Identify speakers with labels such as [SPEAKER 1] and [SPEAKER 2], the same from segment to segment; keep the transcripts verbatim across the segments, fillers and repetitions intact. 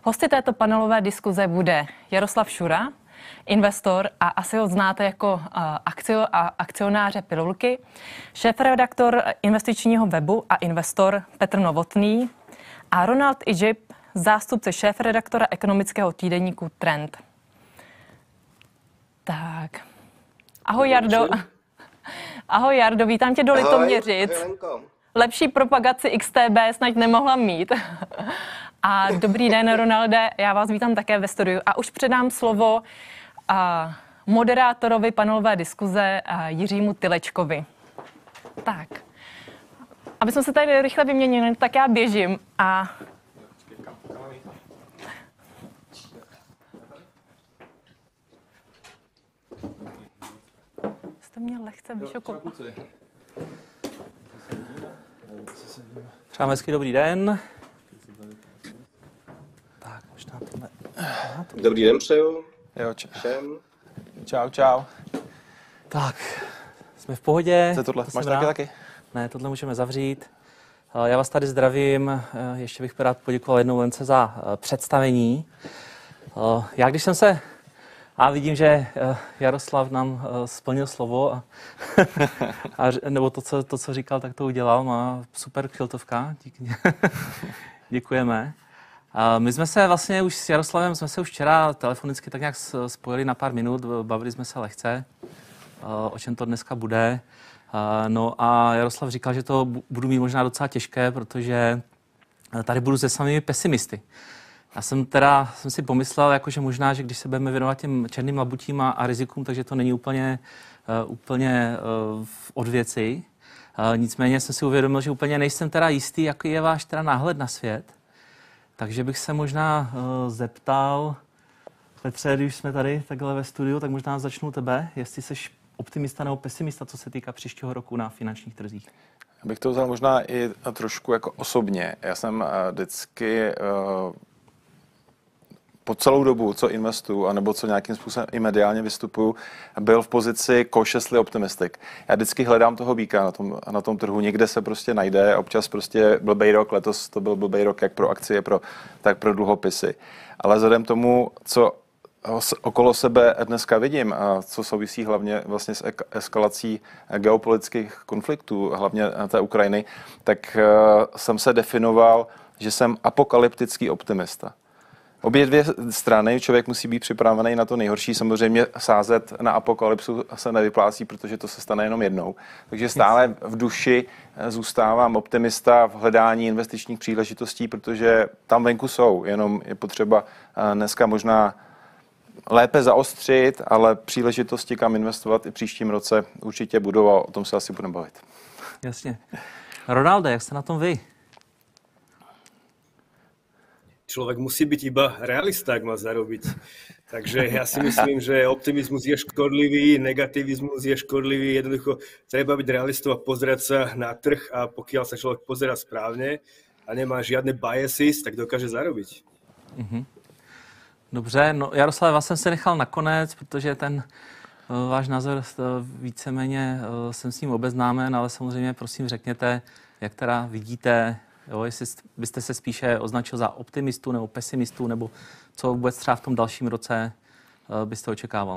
[SPEAKER 1] Hosty této panelové diskuze bude Jaroslav Šura, investor a asi ho znáte jako akcio a akcionáře Pilulky, šéfredaktor investičního webu a investor Petr Novotný a Ronald Idžib, zástupce šéfredaktora ekonomického týdeníku Trend. Tak. Ahoj Jardo. Ahoj Jardo, vítám tě do Litoměřic. Lepší propagaci X T B snad nemohla mít. A dobrý den, Ronalde, já vás vítám také ve studiu. A už předám slovo a, moderátorovi panelové diskuze a, Jiřímu Tylečkovi. Tak, aby jsme se tady rychle vyměnili, tak já běžím a... Jste mě lehce vyšokoval.
[SPEAKER 2] Přám hezký dobrý den. Tak, možná tohle.
[SPEAKER 3] Dobrý den přeju.
[SPEAKER 2] Jo, čau.
[SPEAKER 3] Všem.
[SPEAKER 2] Čau, čau. Tak, jsme v pohodě.
[SPEAKER 4] Co je tohle?
[SPEAKER 2] To
[SPEAKER 4] Máš
[SPEAKER 2] jsem
[SPEAKER 4] taky
[SPEAKER 2] rád.
[SPEAKER 4] taky?
[SPEAKER 2] Ne, tohle můžeme zavřít. Já vás tady zdravím. Ještě bych rád poděkoval jednou Lence za představení. Já když jsem se... A vidím, že Jaroslav nám splnil slovo, a, a, nebo to co, to, co říkal, tak to udělal. Má super kšiltovka. Díky. Děkujeme. A my jsme se vlastně už s Jaroslavem, jsme se už včera telefonicky tak nějak spojili na pár minut, bavili jsme se lehce, o čem to dneska bude. No a Jaroslav říkal, že to budu mít možná docela těžké, protože tady budu se samými pesimisty. Já jsem teda jsem si pomyslel, jako, že možná, že když se budeme věnovat těm černým labutím a, a rizikům, takže to není úplně, uh, úplně uh, od věci. Uh, nicméně jsem si uvědomil, že úplně nejsem teda jistý, jaký je váš teda náhled na svět. Takže bych se možná uh, zeptal, Petře, když jsme tady takhle ve studiu, tak možná začnu tebe, jestli jsi optimista nebo pesimista, co se týká příštího roku na finančních trzích.
[SPEAKER 4] Bych to vzal možná i trošku jako osobně. Já jsem uh, vždycky... Uh, po celou dobu, co investuju, anebo co nějakým způsobem i mediálně vystupuju, byl v pozici cautiously optimistic. Já vždycky hledám toho býka na tom, na tom trhu, někde se prostě najde, občas prostě blbej rok, letos to byl blbej rok jak pro akcie, pro, tak pro dluhopisy. Ale vzhledem tomu, co okolo sebe dneska vidím a co souvisí hlavně vlastně s eskalací geopolitických konfliktů, hlavně té Ukrajiny, tak jsem se definoval, že jsem apokalyptický optimista. Obě dvě strany, člověk musí být připravený na to nejhorší. Samozřejmě sázet na apokalypsu se nevyplácí, protože to se stane jenom jednou. Takže stále v duši zůstávám optimista v hledání investičních příležitostí, protože tam venku jsou. Jenom je potřeba dneska možná lépe zaostřit, ale příležitosti, kam investovat i příštím roce určitě budou a o tom se asi budeme bavit.
[SPEAKER 2] Jasně. Ronalde, jak jste na tom vy?
[SPEAKER 5] Človek musí byť iba realista, ak má zarobiť. Takže ja si myslím, že optimizmus je škodlivý, negativizmus je škodlivý, jednoducho treba byť realistou a pozerať sa na trh a pokiaľ sa človek pozerá správne a nemá žiadne biases, tak dokáže zarobiť.
[SPEAKER 2] Mm-hmm. Dobře, no Jaroslav, vás jsem se nechal nakonec, protože ten uh, váš názor uh, víceméně uh, jsem s ním obeznámen, ale samozřejmě prosím řekněte, jak teda vidíte. Jo, jestli byste se spíše označil za optimistu nebo pesimistu, nebo co vůbec třeba v tom dalším roce uh, byste očekával?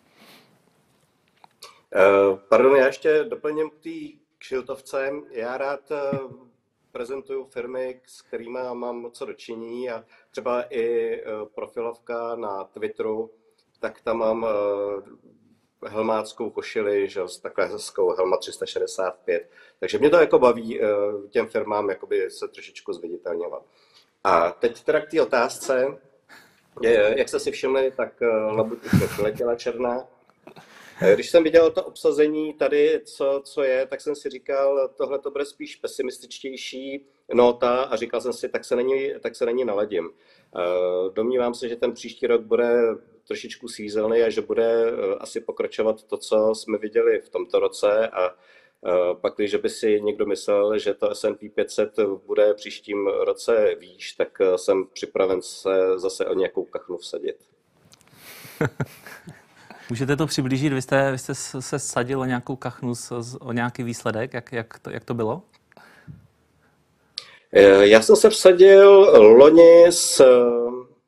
[SPEAKER 3] Uh, pardon, já ještě doplním k té kšiltovce. Já rád uh, prezentuju firmy, s kterými mám co dočinění a třeba i uh, profilovka na Twitteru, tak tam mám uh, helmáckou košili, že s takhle hezkou Helma tři sta šedesát pět. Takže mě to jako baví těm firmám jakoby se trošičku zviditelňovat. A teď teda k té otázce, jak jste si všimli, tak labuť už letěla černá. Když jsem viděl to obsazení tady, co, co je, tak jsem si říkal, tohle to bude spíš pesimističtější nota a říkal jsem si, tak se není, tak se není naladím. Domnívám se, že ten příští rok bude trošičku svízelný a že bude asi pokračovat to, co jsme viděli v tomto roce a pak, když by si někdo myslel, že to S and P pět set bude příštím roce výš, tak jsem připraven se zase o nějakou kachnu vsadit.
[SPEAKER 2] Můžete to přiblížit? Vy jste, vy jste se vsadil o nějakou kachnu, o nějaký výsledek, jak, jak, to, jak to bylo?
[SPEAKER 3] Já jsem se vsadil loni s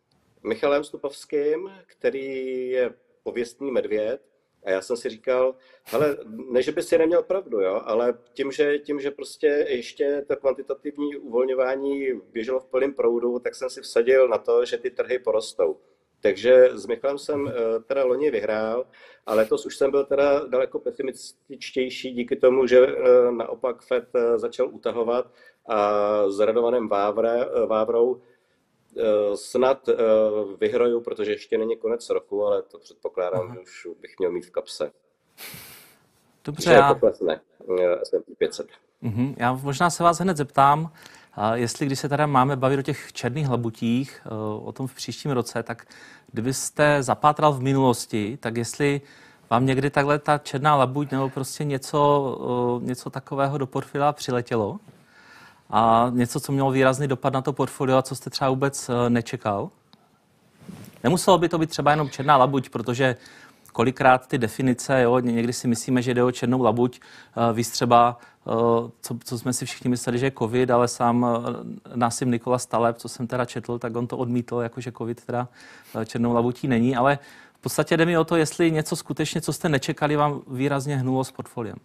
[SPEAKER 3] Michalem Stupovským, který je pověstný medvěd. A já jsem si říkal, hele, ne, že by si neměl pravdu, jo, ale tím, že, tím, že prostě ještě to kvantitativní uvolňování běželo v plném proudu, tak jsem si vsadil na to, že ty trhy porostou. Takže s Michalem jsem teda loni vyhrál, ale letos už jsem byl teda daleko pesimističtější díky tomu, že naopak Fed začal utahovat a s Radovanem Vávre, Vávrou snad vyhraju, protože ještě není konec roku, ale to předpokládám, Aha. že už bych měl mít v kapse.
[SPEAKER 2] Dobře, já...
[SPEAKER 3] to klesne S and P pět set.
[SPEAKER 2] Uh-huh. Já možná se vás hned zeptám, jestli když se teda máme bavit o těch černých labutích, o tom v příštím roce, tak kdybyste zapátral v minulosti, tak jestli vám někdy takhle ta černá labuť nebo prostě něco, něco takového do portfolia přiletělo a něco, co mělo výrazný dopad na to portfolio a co jste třeba vůbec nečekal? Nemuselo by to být třeba jenom černá labuť, protože kolikrát ty definice, jo, někdy si myslíme, že jde o černou labuť, víc třeba, co, co jsme si všichni mysleli, že je covid, ale sám Nassim Nicholas Taleb, co jsem teda četl, tak on to odmítl, jakože covid teda černou labutí není, ale v podstatě jde mi o to, jestli něco skutečně, co jste nečekali, vám výrazně hnulo s portfoliem.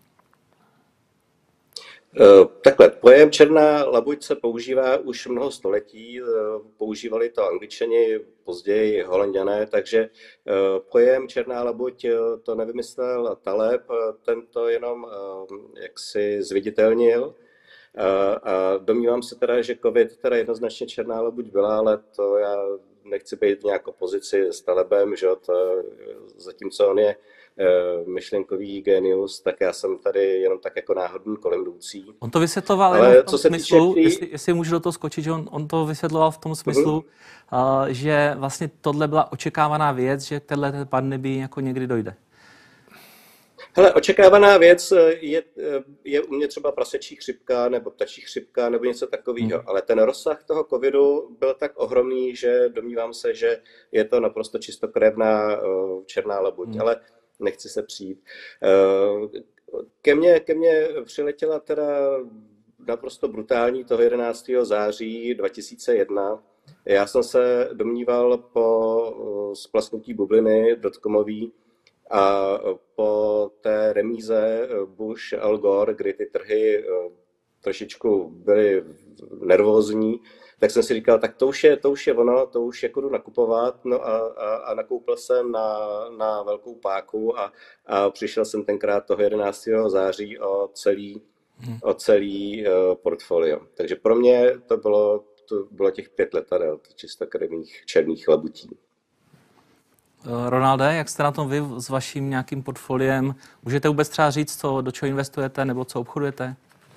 [SPEAKER 3] Takhle, pojem černá labuť se používá už mnoho století, používali to Angličani, později Holanďané, takže pojem černá labuť to nevymyslel Taleb, ten to jenom jaksi zviditelnil. A domnívám se teda, že covid teda jednoznačně černá labuť byla, ale to já nechci být v nějakou pozici s Talebem, že to, zatímco on je myšlenkový genius, tak já jsem tady jenom tak jako náhodný kolem jdoucí.
[SPEAKER 2] On to vysvětloval ale jenom v tom smyslu, tý... jestli, jestli můžu do toho skočit, že on, on to vysvětloval v tom smyslu, uh-huh. uh, že vlastně tohle byla očekávaná věc, že k téhle pandemii jako někdy dojde.
[SPEAKER 3] Hele, očekávaná věc je, je u mě třeba prasečí chřipka nebo ptačí chřipka nebo něco takového, hmm. ale ten rozsah toho covidu byl tak ohromný, že domnívám se, že je to naprosto čistokrevná černá labuť, hmm. ale nechci se přijít. Ke mně, ke mně přiletěla teda naprosto brutální toho jedenáctého září dva tisíce jedna. Já jsem se domníval po splasknutí bubliny dotcomový, a po té remíze Bush-Al Gore, kdy ty trhy trošičku byly nervózní, tak jsem si říkal, tak to už je, to už je ono, to už jako jdu nakupovat, no a, a, a nakoupil jsem na, na velkou páku a, a přišel jsem tenkrát toho jedenáctého září o celý, o celý uh, portfolio. Takže pro mě to bylo, to bylo těch pět letadel, čistokrevných černých labutí.
[SPEAKER 2] Ronalde, jak jste na tom vy s vaším nějakým portfoliem? Můžete vůbec třeba říct, co, do čeho investujete nebo co obchodujete?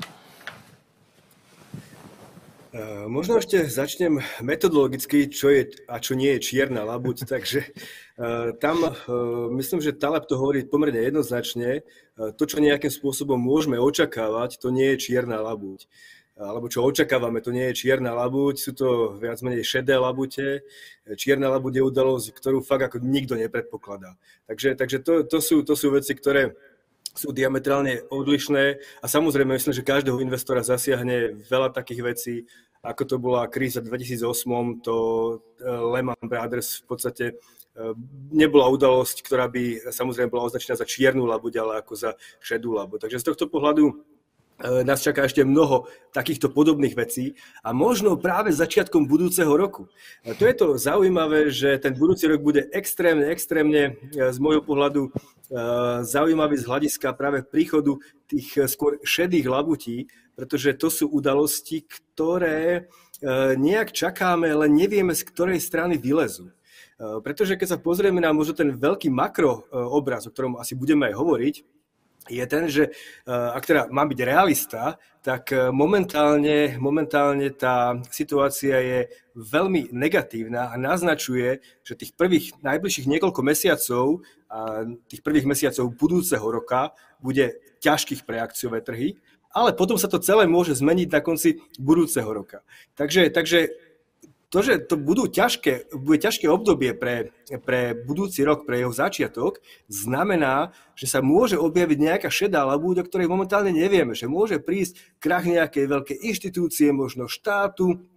[SPEAKER 5] Uh, možno ešte začnem metodologicky, čo je a čo nie je čierna labuť. Takže uh, tam uh, myslím, že Taleb to hovorí pomerne jednoznačne. Uh, to, čo nejakým spôsobom môžeme očakávať, to nie je čierna labuť. Alebo čo očakávame, to nie je čierna labuť, sú to viac menej šedé labute. Čierna labuť je udalosť, ktorú fakt ako nikto nepredpokladá. Takže, takže to, to, sú, to sú veci, ktoré sú diametrálne odlišné a samozrejme myslím, že každého investora zasiahne veľa takých vecí, ako to bola kríza v dvetisícosem, to Lehman Brothers v podstate nebola udalosť, ktorá by samozrejme bola označená za čiernu labuť, ale ako za šedú labuť. Takže z tohto pohľadu nás čaká ešte mnoho takýchto podobných vecí a možno práve začiatkom budúceho roku. A to je to zaujímavé, že ten budúci rok bude extrémne, extrémne z môjho pohľadu zaujímavý z hľadiska práve príchodu tých skôr šedých labutí, pretože to sú udalosti, ktoré nejak čakáme, len nevieme, z ktorej strany vylezú. Pretože keď sa pozrieme na možno ten veľký makro obraz, o ktorom asi budeme aj hovoriť, je ten, že ak teda mám byť realista, tak momentálne, momentálne tá situácia je veľmi negatívna a naznačuje, že tých prvých najbližších niekoľko mesiacov a tých prvých mesiacov budúceho roka bude ťažkých pre akciové trhy, ale potom sa to celé môže zmeniť na konci budúceho roka. Takže, takže to, že to budú ťažké, bude ťažké obdobie pre, pre budúci rok, pre jeho začiatok, znamená, že sa môže objaviť nejaká šedá labuť, o ktorej momentálne nevieme, že môže prísť krach nejakej veľkej inštitúcie, možno štátu,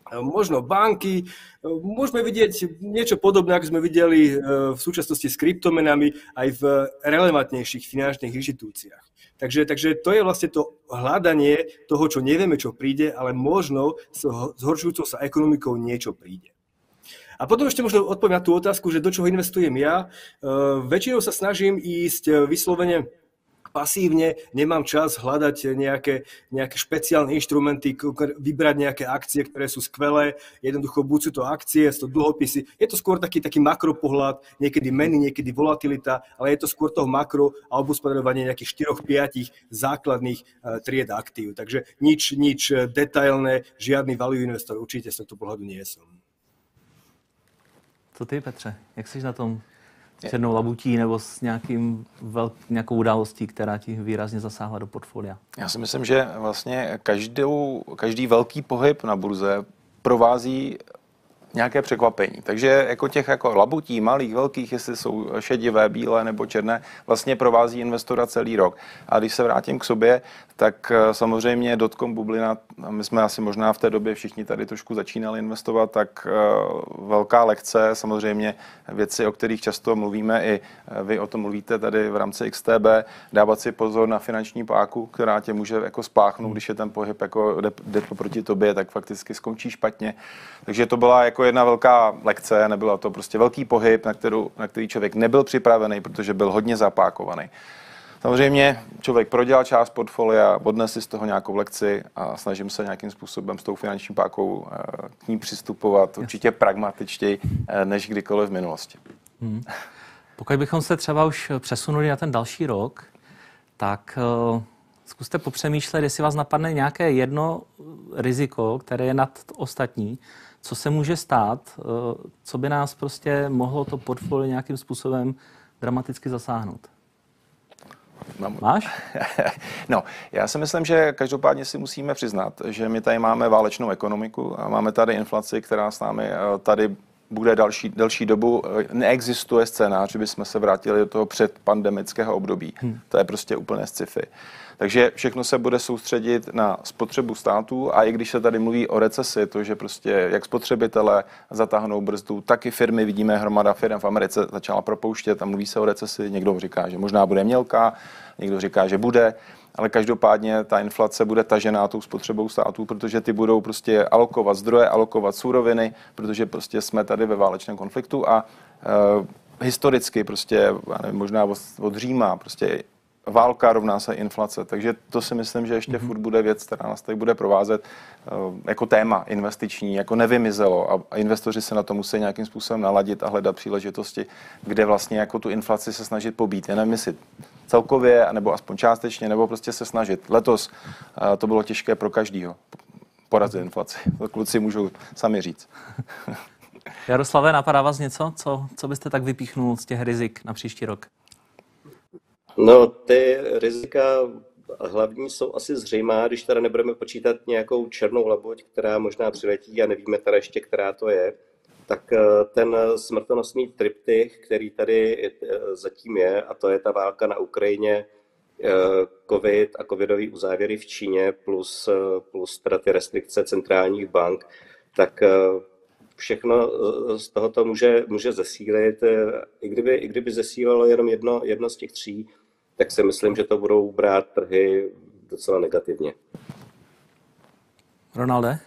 [SPEAKER 5] možno banky. Môžeme vidieť niečo podobné, ako sme videli v súčasnosti s kryptomenami aj v relevantnejších finančných inštitúciách. Takže, takže to je vlastne to hľadanie toho, čo nevieme, čo príde, ale možno s zhoršujúcou sa ekonomikou niečo príde. A potom ešte možno odpoviem na tú otázku, že do čoho investujem ja. Väčšinou sa snažím ísť vyslovene pasívne, nemám čas hľadať nejaké, nejaké špeciálne inštrumenty, vybrať nejaké akcie, ktoré sú skvelé. Jednoducho, buď sú to akcie, sú to dlhopisy. Je to skôr taký, taký makropohľad, niekedy meny, niekedy volatilita, ale je to skôr toho makro a obospodarovanie nejakých štyroch piatich základných uh, tried aktív. Takže nič, nič detailné, žiadny value investor, určite z tohto pohľadu nie som.
[SPEAKER 2] Co ty, Petře? Jak jsi na tom s jednou labutí nebo s nějakým velk, nějakou událostí, která ti výrazně zasáhla do portfolia?
[SPEAKER 4] Já si myslím, že vlastně každou, každý velký pohyb na burze provází nějaké překvapení. Takže jako těch jako labutí, malých, velkých, jestli jsou šedivé, bílé nebo černé, vlastně provází investora celý rok. A když se vrátím k sobě, tak samozřejmě dotcom bublina, my jsme asi možná v té době všichni tady trošku začínali investovat, tak velká lekce, samozřejmě věci, o kterých často mluvíme, i vy o tom mluvíte tady v rámci X T B, dávat si pozor na finanční páku, která tě může jako spláchnout, když je ten pohyb jako jde, jde proti tobě, tak fakticky skončí špatně. Takže to byla jako jedna velká lekce, nebyla to prostě velký pohyb, na, kterou, na který člověk nebyl připravený, protože byl hodně zapákovaný. Samozřejmě člověk prodělal část portfolia, odnes si z toho nějakou lekci a snažím se nějakým způsobem s tou finanční pákou k ní přistupovat určitě pragmatičtěji než kdykoliv v minulosti.
[SPEAKER 2] Hmm. Pokud bychom se třeba už přesunuli na ten další rok, tak uh, zkuste popřemýšlet, jestli vás napadne nějaké jedno riziko, které je nad ostatní, co se může stát, co by nás prostě mohlo to portfolio nějakým způsobem dramaticky zasáhnout. Máš?
[SPEAKER 4] No, já si myslím, že každopádně si musíme přiznat, že my tady máme válečnou ekonomiku a máme tady inflaci, která s námi tady bude další, další dobu. Neexistuje scénář, že bychom se vrátili do toho předpandemického období. Hmm. To je prostě úplně sci-fi. Takže všechno se bude soustředit na spotřebu států a i když se tady mluví o recesi, to, že prostě jak spotřebitelé zatáhnou brzdu, tak i firmy, vidíme hromada firm v Americe začala propouštět a mluví se o recesi. Někdo říká, že možná bude mělká, někdo říká, že bude, ale každopádně ta inflace bude tažená tou spotřebou států, protože ty budou prostě alokovat zdroje, alokovat suroviny, protože prostě jsme tady ve válečném konfliktu a uh, historicky prostě, nevím, možná od, od Říma, prostě válka rovná se inflace, takže to si myslím, že ještě mm-hmm. furt bude věc, která nás tady bude provázet uh, jako téma investiční, jako nevymizelo a, a investoři se na to musí nějakým způsobem naladit a hledat příležitosti, kde vlastně jako tu inflaci se snažit pobít. Já nevím, jestli celkově, nebo aspoň částečně, nebo prostě se snažit. Letos uh, to bylo těžké pro každýho porazit inflaci. To kluci můžou sami říct.
[SPEAKER 2] Jaroslave, napadá vás něco? Co, co byste tak vypíchnul z těch rizik na příští rok?
[SPEAKER 3] No, ty rizika hlavní jsou asi zřejmá, když teda nebudeme počítat nějakou černou labuť, která možná přiletí a nevíme teda ještě, která to je, tak ten smrtonosný triptych, který tady zatím je, a to je ta válka na Ukrajině, covid a covidový uzávěry v Číně plus, plus teda ty restrikce centrálních bank, tak všechno z tohoto může, může zesílit. I kdyby, i kdyby zesílilo jenom jedno, jedno z těch tří, tak si myslím, že to budou brát trhy docela negativně.
[SPEAKER 2] Ronalde?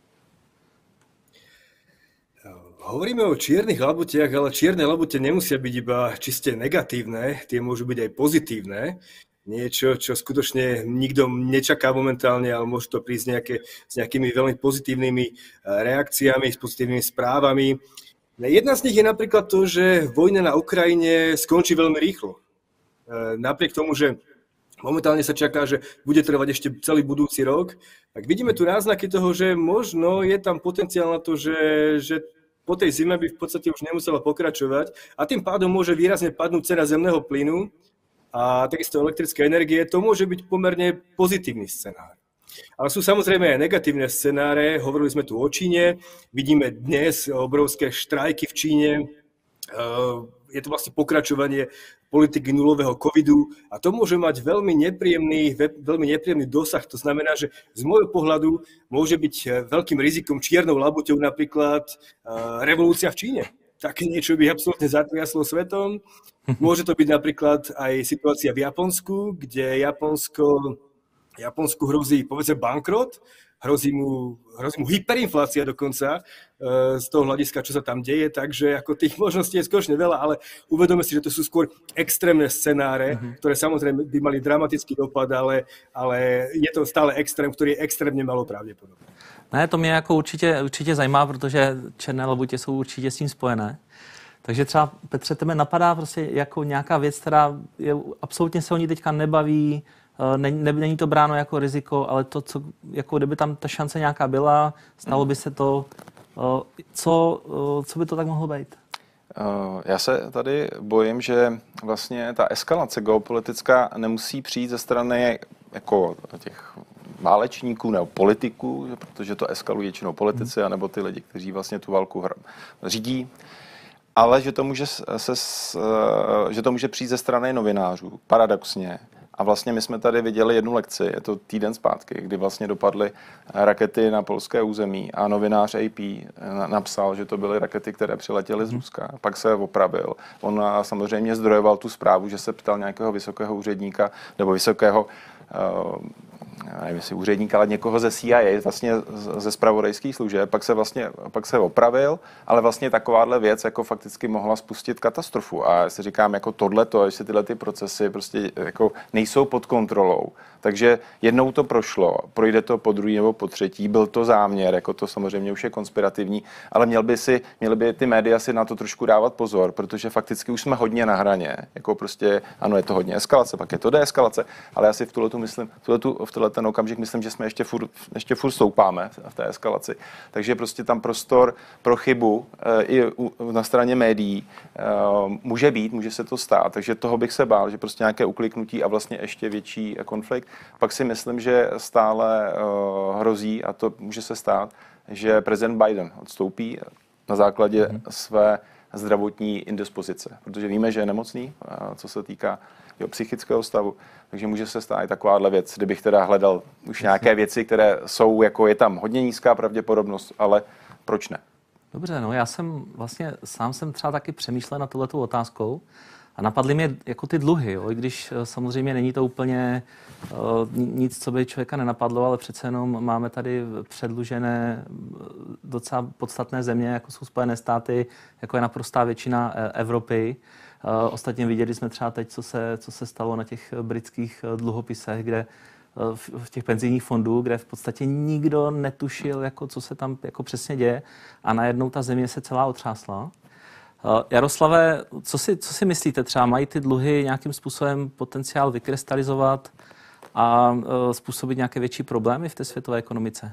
[SPEAKER 5] Hovoríme o čiernych labutiach, ale čierne labute nemusia byť iba čiste negatívne, tie môžu byť aj pozitívne. Niečo, čo skutočne nikto nečaká momentálne, ale môže to prísť nejaké, s nejakými veľmi pozitívnymi reakciami, s pozitívnymi správami. Jedna z nich je napríklad to, že vojna na Ukrajine skončí veľmi rýchlo. Napriek tomu, že momentálne sa čaká, že bude trvať ešte celý budúci rok, tak vidíme tu náznaky toho, že možno je tam potenciál na to, že, že po tej zime by v podstate už nemusela pokračovať a tým pádom môže výrazne padnúť cena zemného plynu a takisto elektrické energie. To môže byť pomerne pozitívny scenár. Ale sú samozrejme aj negatívne scenáre. Hovorili sme tu o Číne. Vidíme dnes obrovské štrajky v Číne. je to vlastne pokračovanie politiky nulového covidu a to môže mať veľmi nepríjemný, veľmi nepríjemný dosah. To znamená, že z môjho pohľadu môže byť veľkým rizikom, čiernou labuťou napríklad revolúcia v Číne. Také niečo by absolútne zatriaslo svetom. Môže to byť napríklad aj situácia v Japonsku, kde Japonsko, Japonsku hrozí, povedzme, bankrot, hrozí mu, hrozí mu hyperinflácia dokonca e, z toho hľadiska, čo sa tam deje, takže ako tých možností je skutočne veľa, ale uvedome si, že to sú skôr extrémne scenáre, mm-hmm. ktoré samozrejme by mali dramatický dopad, ale, ale je to stále extrém, ktorý je extrémně malo pravděpodobné.
[SPEAKER 2] Ne, to mě jako určitě, určitě zajímá, protože černé labutě jsou určitě s tím spojené. Takže třeba, Petře, tebe napadá prostě jako nějaká věc, která je, absolutně se o ní teďka nebaví, Není, není to bráno jako riziko, ale to, co, jako kdyby tam ta šance nějaká byla, stalo by se to. Co, co by to tak mohlo být?
[SPEAKER 4] Já se tady bojím, že vlastně ta eskalace geopolitická nemusí přijít ze strany jako těch válečníků nebo politiků, protože to eskalují většinou politici, anebo ty lidi, kteří vlastně tu válku řídí, ale že to může, se, že to může přijít ze strany novinářů, paradoxně. A vlastně my jsme tady viděli jednu lekci, je to týden zpátky, kdy vlastně dopadly rakety na polské území a novinář A P napsal, že to byly rakety, které přiletěly z Ruska. Pak se opravil. On samozřejmě zdrojoval tu zprávu, že se ptal nějakého vysokého úředníka nebo vysokého nevím, jestli úředník, ale někoho ze C I A, vlastně ze zpravodajských služeb, pak se vlastně pak se opravil, ale vlastně takováhle věc jako fakticky mohla spustit katastrofu. A já si říkám, jako tohleto, jestli tyhle ty procesy prostě jako nejsou pod kontrolou. Takže jednou to prošlo, projde to po druhý nebo po třetí, byl to záměr, jako to samozřejmě už je konspirativní, ale měl by si, měly by ty média si na to trošku dávat pozor, protože fakticky už jsme hodně na hraně. Jako prostě, ano, je to hodně eskalace, pak je to deeskalace, ale já si v tuhletu myslím, v tuhletu, v tuhle ten okamžik myslím, že jsme ještě furt, ještě furt stoupáme v té eskalaci. Takže prostě tam prostor pro chybu e, i u, na straně médií e, může být, může se to stát, takže toho bych se bál, že prostě nějaké ukliknutí a vlastně ještě větší konflikt. Pak si myslím, že stále uh, hrozí, a to může se stát, že prezident Biden odstoupí na základě mm. své zdravotní indispozice, protože víme, že je nemocný, uh, co se týká jeho psychického stavu, takže může se stát i takováhle věc, kdybych teda hledal už nějaké věci, které jsou, jako je tam hodně nízká pravděpodobnost, ale proč ne?
[SPEAKER 2] Dobře, no já jsem vlastně, sám jsem třeba taky přemýšlel nad touhletou otázkou, a napadly mě jako ty dluhy, jo? I když samozřejmě není to úplně uh, nic, co by člověka nenapadlo, ale přece jenom máme tady předlužené docela podstatné země, jako jsou Spojené státy, jako je naprostá většina Evropy. Uh, ostatně viděli jsme třeba teď, co se, co se stalo na těch britských dluhopisech, kde uh, v, v těch penzijních fondů, kde v podstatě nikdo netušil, jako, co se tam jako přesně děje a najednou ta země se celá otřásla. Jaroslave, co si, co si myslíte, třeba mají ty dluhy nějakým způsobem potenciál vykrystalizovat a uh, způsobit nějaké větší problémy v té světové ekonomice?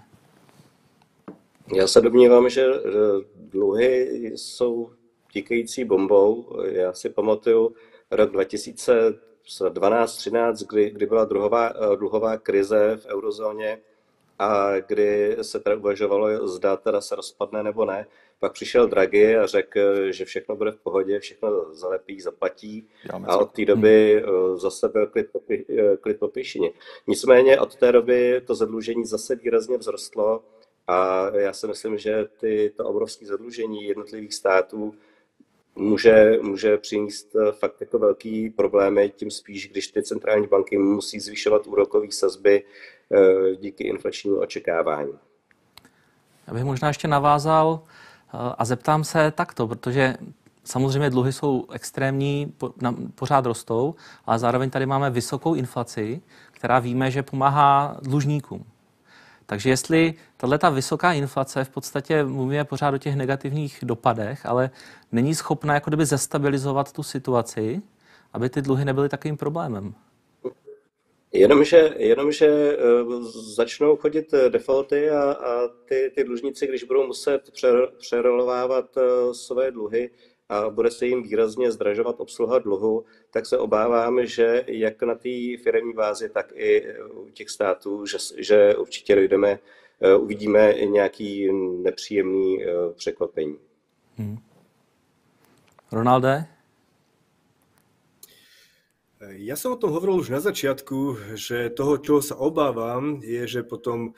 [SPEAKER 3] Já se domnívám, že dluhy jsou tíkající bombou. Já si pamatuju rok dva tisíce dvanáct třináct, kdy, kdy byla druhová, dluhová krize v eurozóně a kdy se teda uvažovalo, zda teda se rozpadne nebo ne. Pak přišel Draghi a řekl, že všechno bude v pohodě, všechno zalepí, zaplatí a od té doby zase byl klid po, klid po pěšině. Nicméně od té doby to zadlužení zase výrazně vzrostlo a já si myslím, že ty, to obrovské zadlužení jednotlivých států může, může přinést fakt jako velký problémy, tím spíš, když ty centrální banky musí zvyšovat úrokové sazby díky inflačnímu očekávání.
[SPEAKER 2] Já bych možná ještě navázal a zeptám se takto, protože samozřejmě dluhy jsou extrémní, pořád rostou, ale zároveň tady máme vysokou inflaci, která víme, že pomáhá dlužníkům. Takže jestli tato vysoká inflace, v podstatě mluvíme pořád o těch negativních dopadech, ale není schopná jako kdyby zestabilizovat tu situaci, aby ty dluhy nebyly takovým problémem.
[SPEAKER 3] Jenomže, jenomže začnou chodit defaulty a, a ty, ty dlužníci, když budou muset přerolovávat své dluhy a bude se jim výrazně zdražovat obsluha dluhu, tak se obávám, že jak na té firemní bázi, tak i u těch států, že, že určitě dojdeme, uvidíme nějaký nepříjemný překvapení.
[SPEAKER 2] Hmm. Ronalde,
[SPEAKER 5] Ja som o tom hovoril už na začiatku, že toho, čoho sa obávam, je, že po tom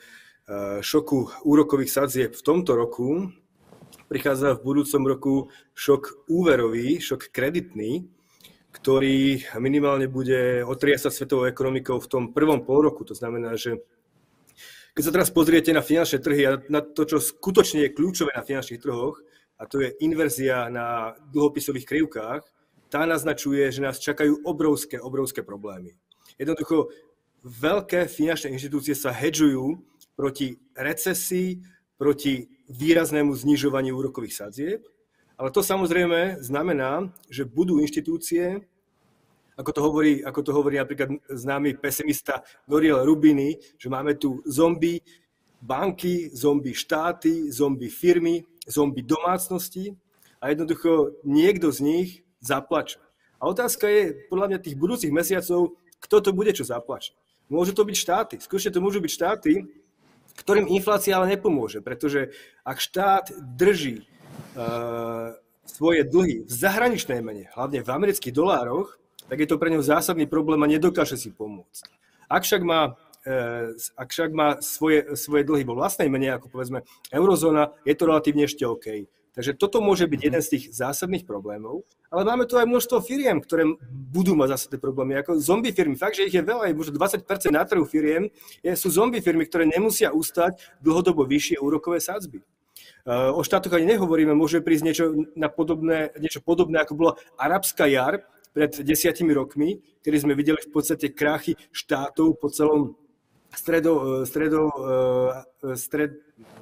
[SPEAKER 5] šoku úrokových sadzieb v tomto roku prichádza v budúcom roku šok úverový, šok kreditný, ktorý minimálne bude otriasať svetovou ekonomikou v tom prvom polroku. To znamená, že keď sa teraz pozriete na finančné trhy a na to, čo skutočne je kľúčové na finančných trhoch, a to je inverzia na dlhopisových krivkách, tá naznačuje, že nás čakajú obrovské, obrovské problémy. Jednoducho, veľké finančné inštitúcie sa hedžujú proti recesii, proti výraznému znižovaniu úrokových sadzieb, ale to samozrejme znamená, že budú inštitúcie, ako to hovorí, ako to hovorí napríklad známy pesimista Nouriel Roubini, že máme tu zombie banky, zombie štáty, zombie firmy, zombie domácnosti a jednoducho niekto z nich zaplače. A otázka je, podľa mňa tých budúcich mesiacov, kto to bude, čo zaplače. Môžu to byť štáty, skutočne to môžu byť štáty, ktorým inflácia ale nepomôže, pretože ak štát drží uh, svoje dlhy v zahraničnej mene, hlavne v amerických dolároch, tak je to pre neho zásadný problém a nedokáže si pomôcť. Ak však má, uh, ak však má svoje, svoje dlhy vo vlastnej mene, ako povedzme eurozóna, je to relatívne ešte OK. Takže toto môže byť jeden z tých zásadných problémov, ale máme tu aj množstvo firiem, ktoré budú mať zásadné problémy, ako zombie firmy. Fakt, že ich je veľa, je možno dvadsať percent na trhu firiem, je, sú zombie firmy, ktoré nemusia ustať dlhodobo vyššie úrokové sadzby. Uh, o štátoch ani nehovoríme, môže prísť niečo, na podobné, niečo podobné, ako bola arabská jar pred desiatimi rokmi, kedy sme videli v podstate krachy štátov po celom stredo, stredo, stred,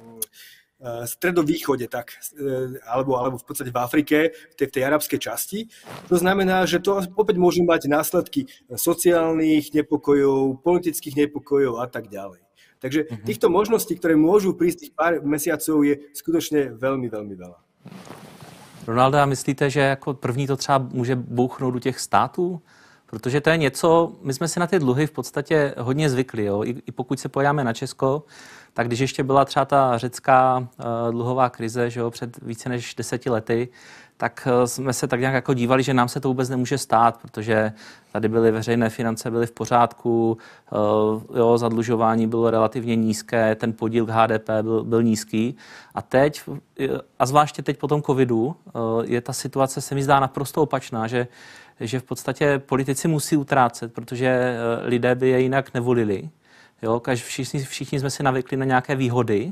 [SPEAKER 5] stredovýchode, tak, alebo, alebo v podstate v Afrike, v tej, v tej arabskej časti. To znamená, že to opäť môže mať následky sociálnych nepokojov, politických nepokojov a tak ďalej. Takže týchto možností, ktoré môžu prísť tých pár mesiacov, je skutočne veľmi, veľmi veľa.
[SPEAKER 2] Ronaldo, a myslíte, že jako první to třeba může bouchnout do těch států? Protože to je něco, my jsme si na ty dluhy v podstatě hodně zvykli. Jo? I, I pokud se podíváme na Česko, tak když ještě byla třeba ta řecká uh, dluhová krize, že jo, před více než deseti lety, tak uh, jsme se tak nějak jako dívali, že nám se to vůbec nemůže stát, protože tady byly veřejné finance, byly v pořádku, uh, jo, zadlužování bylo relativně nízké, ten podíl k H D P byl, byl nízký. A teď, a zvláště teď po tom covidu, uh, je ta situace, se mi zdá naprosto opačná, že že v podstatě politici musí utrácet, protože lidé by je jinak nevolili. Jo, všichni, všichni jsme si navykli na nějaké výhody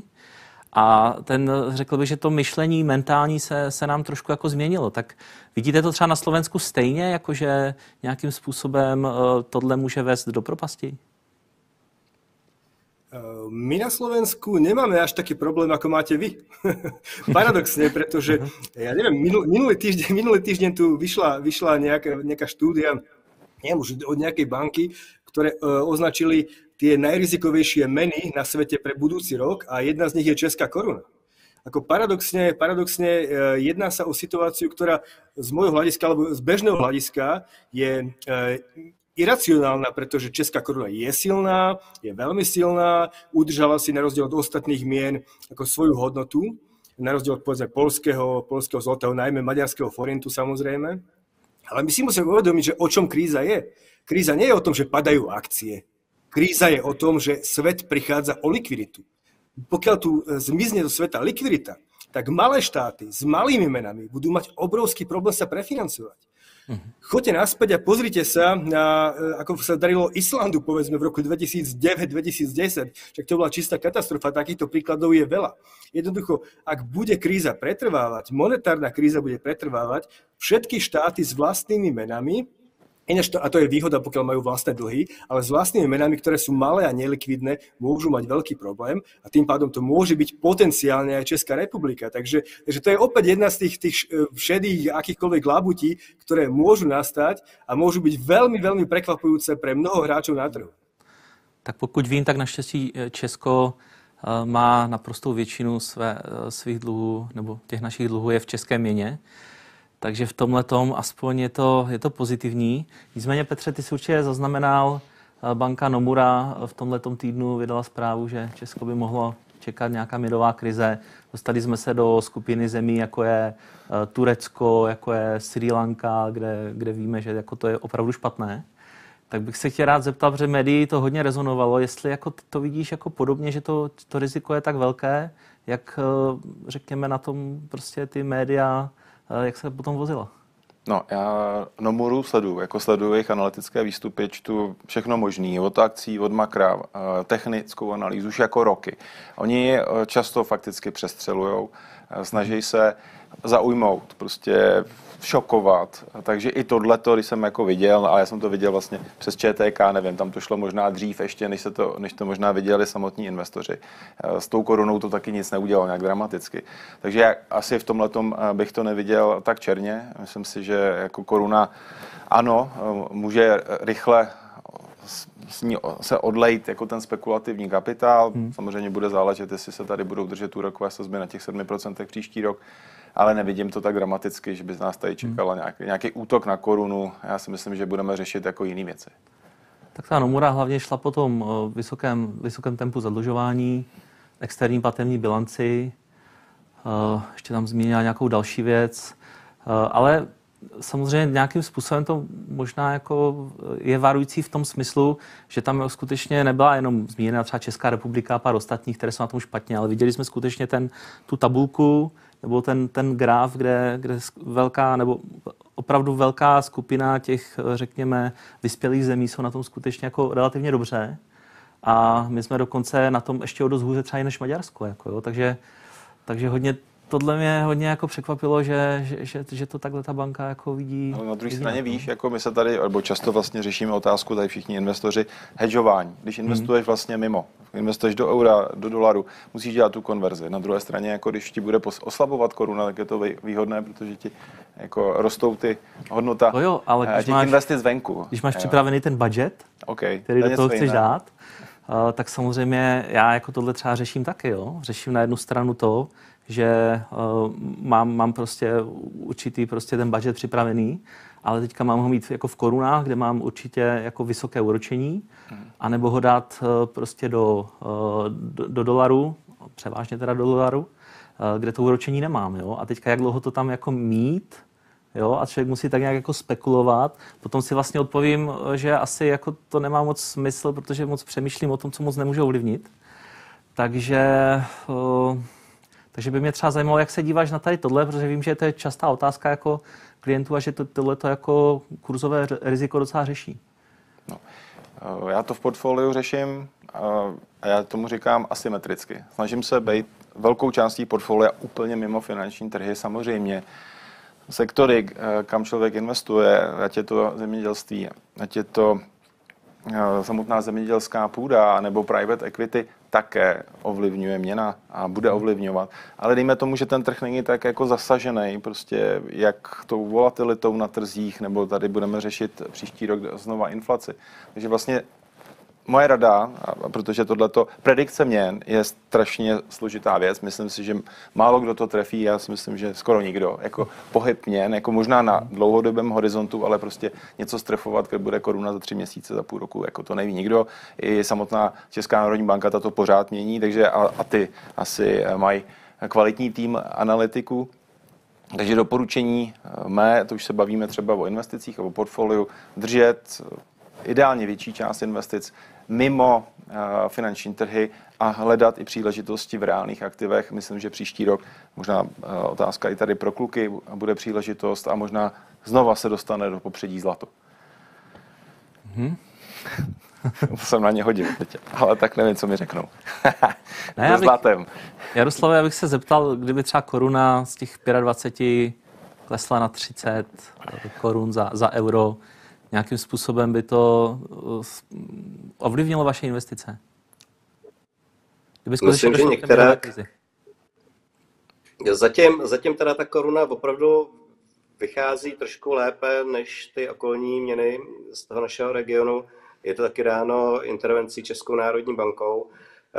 [SPEAKER 2] a ten, řekl bych, že to myšlení mentální se, se nám trošku jako změnilo. Tak vidíte to třeba na Slovensku stejně, jakože nějakým způsobem tohle může vést do propasti?
[SPEAKER 5] My na Slovensku nemáme až taký problém, ako máte vy. Paradoxne, pretože, ja neviem, minul, minulý, týždeň, minulý týždeň tu vyšla, vyšla nejaká, nejaká štúdia, neviem, už od nejakej banky, ktoré uh, označili tie najrizikovejšie meny na svete pre budúci rok a jedna z nich je česká koruna. Ako paradoxne, paradoxne uh, jedná sa o situáciu, ktorá z môjho hľadiska, alebo z bežného hľadiska je uh, iracionálna, pretože česká koruna je silná, je veľmi silná, udržala si na rozdiel od ostatných mien ako svoju hodnotu, na rozdiel od povedzme polského, polského zlotého, najmä maďarského forintu samozrejme. Ale my si musíme uvedomiť, že o čom kríza je. Kríza nie je o tom, že padajú akcie. Kríza je o tom, že svet prichádza o likviditu. Pokiaľ tu zmizne do sveta likvidita, tak malé štáty s malými menami budú mať obrovský problém sa prefinancovať. Choďte naspäť a pozrite sa, na, ako sa darilo Islandu, povedzme, v roku dvetisícdeväť dvetisícdesať. Však to bola čistá katastrofa, takýchto príkladov je veľa. Jednoducho, ak bude kríza pretrvávať, monetárna kríza bude pretrvávať, všetky štáty s vlastnými menami, ináč to, a to je výhoda, pokiaľ majú vlastné dlhy, ale s vlastnými menami, ktoré sú malé a nelikvidné, môžu mať veľký problém a tým pádom to môže byť potenciálne aj Česká republika. Takže, takže to je opäť jedna z tých, tých všedých akýchkoľvek labutí, ktoré môžu nastať a môžu byť veľmi, veľmi prekvapujúce pre mnoho hráčov na trhu.
[SPEAKER 2] Tak pokud vím, tak naštěstí Česko má naprostou většinu své, svých dluhů, nebo těch našich dluhů je v české měně. Takže v tomhletom aspoň je to, je to pozitivní. Nicméně, Petře, ty jsi určitě zaznamenal, banka Nomura v tomhletom týdnu vydala zprávu, že Česko by mohlo čekat nějaká měnová krize. Dostali jsme se do skupiny zemí, jako je Turecko, jako je Srí Lanka, kde, kde víme, že jako to je opravdu špatné. tak bych se chtěl rád zeptat, protože médií to hodně rezonovalo, jestli jako to vidíš jako podobně, že to, to riziko je tak velké, jak řekněme na tom prostě ty média, jak se potom vozila.
[SPEAKER 4] No, já Nomuru sleduju, jako sleduju jejich analytické výstupy, čtu všechno možný, od akcí, od makra, technickou analýzu už jako roky. Oni často fakticky přestřelujou, snaží se zaujmout, prostě šokovat. Takže i tohleto, když jsem jako viděl, a já jsem to viděl vlastně přes ČTK, nevím, tam to šlo možná dřív ještě, než, se to, než to možná viděli samotní investoři. S tou korunou to taky nic neudělalo nějak dramaticky. Takže já asi v tomhletom bych to neviděl tak černě. Myslím si, že jako koruna, ano, může rychle s ní se odlejt jako ten spekulativní kapitál. Hmm. Samozřejmě bude záležet, jestli se tady budou držet úrokové sazby na těch sedmi procentech příští rok, ale nevidím to tak dramaticky, že by z nás tady čekala hmm. nějaký, nějaký útok na korunu. Já si myslím, že budeme řešit jako jiné věci.
[SPEAKER 2] Tak ta Nomura hlavně šla po tom vysokém, vysokém tempu zadlužování, externí platební bilanci, ještě tam zmínila nějakou další věc, ale samozřejmě nějakým způsobem to možná jako je varující v tom smyslu, že tam skutečně nebyla jenom zmíněna třeba Česká republika a pár ostatních, které jsou na tom špatně, ale viděli jsme skutečně ten, tu tabulku nebo ten, ten graf, kde, kde velká nebo opravdu velká skupina těch, řekněme, vyspělých zemí jsou na tom skutečně jako relativně dobře. A my jsme dokonce na tom ještě o dost hůře třeba i než Maďarsko. Jako, jo. Takže, takže hodně tohle mě hodně jako překvapilo, že, že, že, že to takhle ta banka jako vidí.
[SPEAKER 4] Ale na druhé straně víš, jako my se tady, nebo často vlastně řešíme otázku, tady všichni investoři, hedžování. Když investuješ vlastně mimo, investuješ do eura, do dolaru, musíš dělat tu konverzi. Na druhé straně, jako když ti bude oslabovat koruna, tak je to výhodné, protože ti jako rostou ty hodnota
[SPEAKER 2] no jo, ale když
[SPEAKER 4] těch
[SPEAKER 2] máš,
[SPEAKER 4] investic venku.
[SPEAKER 2] Když máš jo. připravený ten budget,
[SPEAKER 4] okay,
[SPEAKER 2] který do toho chceš jiné. dát, uh, tak samozřejmě já jako tohle třeba řeším taky. Jo? Řeším na jednu stranu to, že uh, mám, mám prostě určitý prostě ten budget připravený, ale teďka mám ho mít jako v korunách, kde mám určitě jako vysoké úročení, hmm. anebo ho dát uh, prostě do, uh, do, do dolaru, převážně teda do dolaru, uh, kde to úročení nemám. Jo? A teďka jak dlouho to tam jako mít, jo? A člověk musí tak nějak jako spekulovat. Potom si vlastně odpovím, že asi jako to nemá moc smysl, protože moc přemýšlím o tom, co moc nemůžu ovlivnit. Takže... Uh, Takže by mě třeba zajímalo, jak se díváš na tady tohle, protože vím, že to je častá otázka jako klientů a že to, tohle to jako kurzové riziko docela řeší.
[SPEAKER 4] No, já to v portfoliu řeším a já tomu říkám asymetricky. Snažím se být velkou částí portfolia úplně mimo finanční trhy. Samozřejmě sektory, kam člověk investuje, ať je to zemědělství, ať je to samotná zemědělská půda nebo private equity, také ovlivňuje měna a bude ovlivňovat. Ale dejme tomu, že ten trh není tak jako zasažený, prostě jak tou volatilitou na trzích, nebo tady budeme řešit příští rok znova inflaci. Takže vlastně moje rada, a protože tohleto predikce měn je strašně složitá věc, myslím si, že málo kdo to trefí, já si myslím, že skoro nikdo, jako pohyb měn, jako možná na dlouhodobém horizontu, ale prostě něco strefovat, když bude koruna za tři měsíce, za půl roku, jako to neví nikdo. I samotná Česká národní banka tato pořád mění, takže a, a ty asi mají kvalitní tým analytiků. Takže doporučení mé, to už se bavíme třeba o investicích, o portfoliu, držet ideálně větší část investic mimo uh, finanční trhy a hledat i příležitosti v reálných aktivech. Myslím, že příští rok, možná uh, otázka i tady pro kluky, bude příležitost a možná znova se dostane do popředí zlato. Mm-hmm. To jsem na ně hodil teď, ale tak nevím, co mi řeknou.
[SPEAKER 2] Ne, já bych, Jaroslave, já bych se zeptal, kdyby třeba koruna z těch dvacet pět klesla na třicet korun za, za euro, nějakým způsobem by to ovlivnilo vaše investice?
[SPEAKER 3] Myslím, že některá... Zatím, zatím teda ta koruna opravdu vychází trošku lépe než ty okolní měny z toho našeho regionu. Je to taky dáno intervencí Českou národní bankou.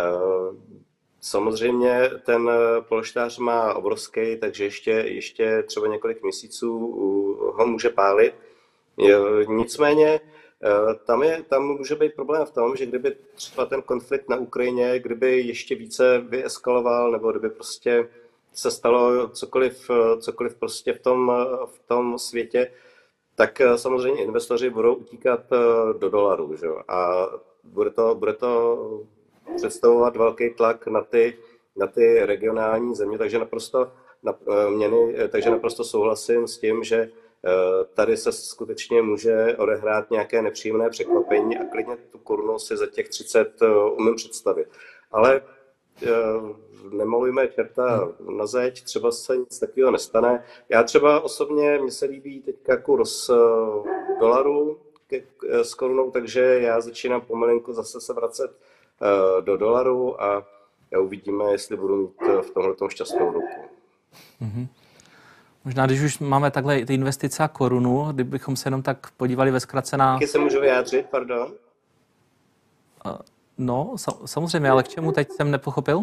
[SPEAKER 3] Samozřejmě ten polštář má obrovský, takže ještě, ještě třeba několik měsíců ho může pálit. Nicméně tam, je, tam může být problém v tom, že kdyby třeba ten konflikt na Ukrajině, kdyby ještě více vyeskaloval, nebo kdyby prostě se stalo cokoliv, cokoliv prostě v tom, v tom světě, tak samozřejmě investoři budou utíkat do dolarů, že? A bude to, bude to představovat velký tlak na ty, na ty regionální země, takže naprosto, na, měny, takže naprosto souhlasím s tím, že tady se skutečně může odehrát nějaké nepříjemné překvapení a klidně tu korunu si za těch třicet umím představit. Ale nemalujme čerta na zeď, třeba se nic takového nestane. Já třeba osobně, mně se líbí teďka kurz dolaru s korunou, takže já začínám pomalinku zase se vracet do dolaru a uvidíme, jestli budu mít v tomhletom šťastnou ruku.
[SPEAKER 2] Mm-hmm. Možná, když už máme takhle ty investice a korunu, kdybychom se jenom tak podívali ve zkratce na...
[SPEAKER 3] Taky se můžu vyjádřit, pardon?
[SPEAKER 2] No, samozřejmě, ale k čemu teď jsem nepochopil?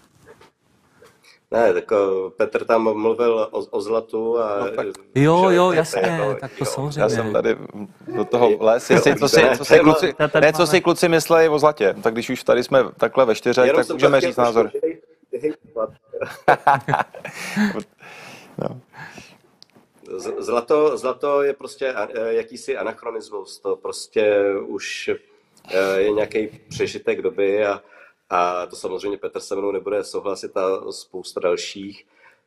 [SPEAKER 3] Ne, tak Petr tam mluvil o, o zlatu a...
[SPEAKER 2] No, tak, jo, jo, jasně, tak to jo. Samozřejmě.
[SPEAKER 4] Já jsem tady do toho les, jestli, co, si, co, si kluci, ne, co si kluci myslejí o zlatě. Tak když už tady jsme takhle ve čtyřech, tak můžeme říct názor.
[SPEAKER 3] No. Zlato, zlato je prostě jakýsi anachronismus, to prostě už je nějaký přežitek doby a, a to samozřejmě Petr se mnou nebude souhlasit a spousta dalších.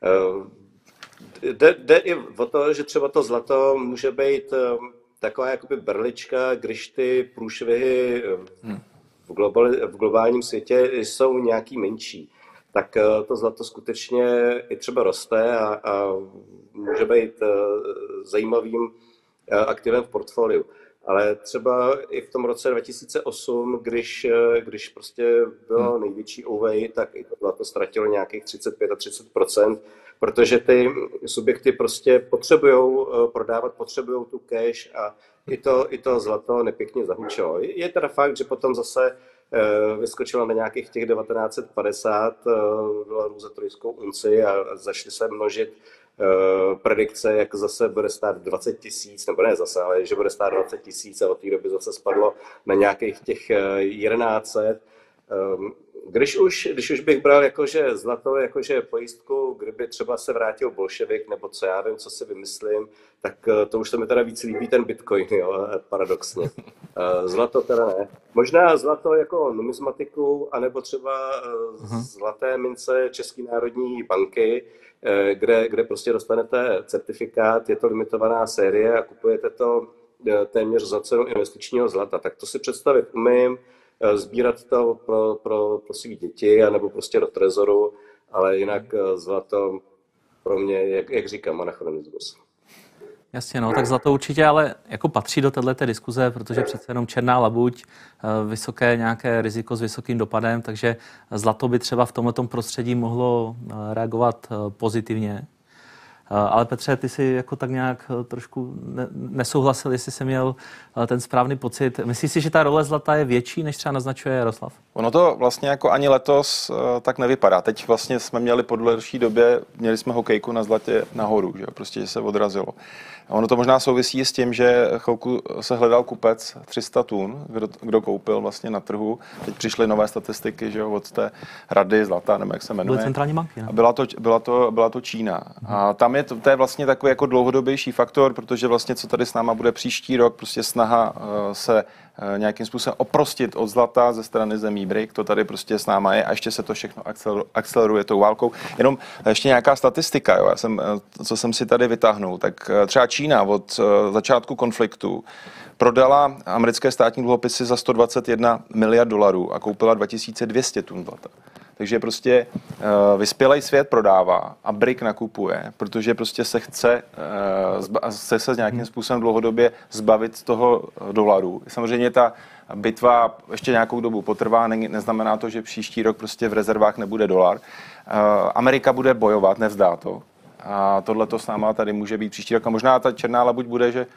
[SPEAKER 3] Jde, jde i o to, že třeba to zlato může být taková jakoby berlička, když ty průšvihy v, globali, v globálním světě jsou nějaký menší. Tak to zlato skutečně i třeba roste a, a může být zajímavým aktivem v portfoliu. Ale třeba i v tom roce dva tisíce osm, když, když prostě bylo největší úvej, tak i to zlato ztratilo nějakých třicet pět a třicet procent, protože ty subjekty prostě potřebují prodávat, potřebují tu cash a i to, i to zlato nepěkně zahučelo. Je teda fakt, že potom zase vyskočila na nějakých těch devatenáct set padesát dolarů za trojskou unci a začaly se množit predikce, jak zase bude stát dvacet tisíc, nebo ne zase, ale že bude stát dvacet tisíc a od té doby zase spadlo na nějakých těch jedenáct set. Když už, když už bych bral jakože zlato, jakože pojistku, kdyby třeba se vrátil bolševik, nebo co já vím, co si vymyslím, tak to už se mi teda víc líbí ten bitcoin, jo, paradoxně. Zlato teda ne. Možná zlato jako numismatiku, anebo třeba zlaté mince České národní banky, kde, kde prostě dostanete certifikát, je to limitovaná série a kupujete to téměř za cenu investičního zlata. Tak to si představit umím, sbírat to pro, pro, pro svý děti, anebo prostě do trezoru, ale jinak zlato pro mě, jak, jak říkám, anachronismus.
[SPEAKER 2] Jasně, no, tak zlato určitě ale jako patří do této diskuze, protože přece jenom černá labuť, vysoké nějaké riziko s vysokým dopadem, takže zlato by třeba v tomhletom prostředí mohlo reagovat pozitivně. Ale Petře, ty jsi jako tak nějak trošku nesouhlasil, jestli jsi měl ten správný pocit. Myslíš si, že ta role zlata je větší, než třeba naznačuje Jaroslav?
[SPEAKER 4] Ono to vlastně jako ani letos tak nevypadá. Teď vlastně jsme měli po delší době, měli jsme hokejku na zlatě nahoru, že prostě že se odrazilo. Ono to možná souvisí s tím, že chvilku se hledal kupec tři sta tun, kdo, kdo koupil vlastně na trhu. Teď přišly nové statistiky, že od té rady zlata, nebo jak se jmenuje.
[SPEAKER 2] Byly centrální banky, ne?
[SPEAKER 4] A byla to, byla to, byla to Čína. A tam je to, to je vlastně takový jako dlouhodobější faktor, protože vlastně co tady s náma bude příští rok, prostě snaha uh, se uh, nějakým způsobem oprostit od zlata ze strany zemí B R I C, to tady prostě s náma je a ještě se to všechno akceleruje tou válkou. Jenom ještě nějaká statistika, jo, já jsem, co jsem si tady vytáhnul, tak uh, třeba Čína od uh, začátku konfliktu prodala americké státní dluhopisy za sto dvacet jedna miliard dolarů a koupila dva tisíce dvě stě tun zlata. Takže prostě uh, vyspělej svět prodává a B R I C nakupuje, protože prostě se chce, uh, zba, chce se nějakým způsobem dlouhodobě zbavit z toho dolaru. Samozřejmě ta bitva ještě nějakou dobu potrvá, ne, neznamená to, že příští rok prostě v rezervách nebude dolar. Uh, Amerika bude bojovat, nevzdá to. A tohle to s náma tady může být příští rok. A možná ta černá labuť bude, že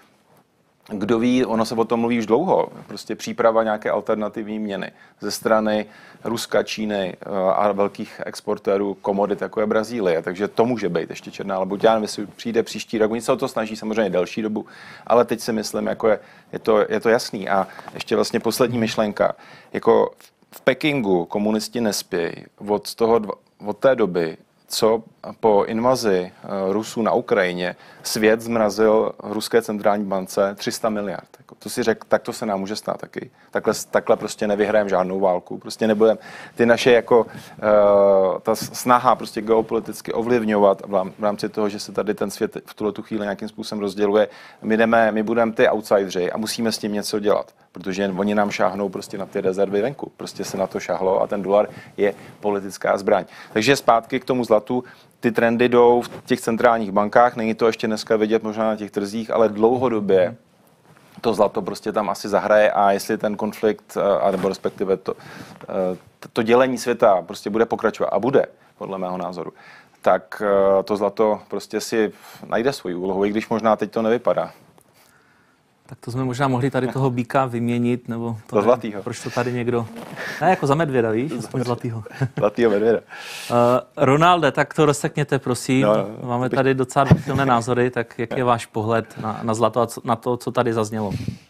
[SPEAKER 4] kdo ví, ono se o tom mluví už dlouho, prostě příprava nějaké alternativní měny ze strany Ruska, Číny a velkých exportérů komodit, jako je Brazílie, takže to může být ještě černá labuť. Já nevím, jestli přijde příští rok, oni se o to snaží samozřejmě delší dobu, ale teď si myslím, jako je, je, to, je to jasný. A ještě vlastně poslední myšlenka, jako v Pekingu komunisti nespějí od, toho, od té doby, co po invazi Rusů na Ukrajině svět zmrazil ruské centrální bance tři sta miliard. Jako, to si řekl, tak to se nám může stát taky. Takhle, takhle prostě nevyhrajeme žádnou válku. Prostě nebudeme ty naše jako uh, ta snaha prostě geopoliticky ovlivňovat v rámci toho, že se tady ten svět v tuhle tu chvíli nějakým způsobem rozděluje. My jdeme, my budeme ty outsideri a musíme s tím něco dělat, protože oni nám šáhnou prostě na ty rezervy venku. Prostě se na to šáhlo a ten dolar je politická zbraň. Takže zpátky k tomu zlatu. Ty trendy jdou v těch centrálních bankách, není to ještě dneska vidět možná na těch trzích, ale dlouhodobě to zlato prostě tam asi zahraje a jestli ten konflikt, nebo respektive to, to dělení světa prostě bude pokračovat a bude, podle mého názoru, tak to zlato prostě si najde svoji úlohu, i když možná teď to nevypadá.
[SPEAKER 2] Tak to jsme možná mohli tady toho býka vyměnit, nebo to
[SPEAKER 4] za zlatýho.
[SPEAKER 2] Proč to tady někdo... Ne, jako za medvěda, víš? Aspoň zlatýho.
[SPEAKER 4] Zlatýho medvěda.
[SPEAKER 2] Uh, Ronalde, tak to rozsekněte, prosím. No, no, Máme bych... tady docela silné názory, tak jak je váš pohled na, na zlato a co, na to, co tady zaznělo?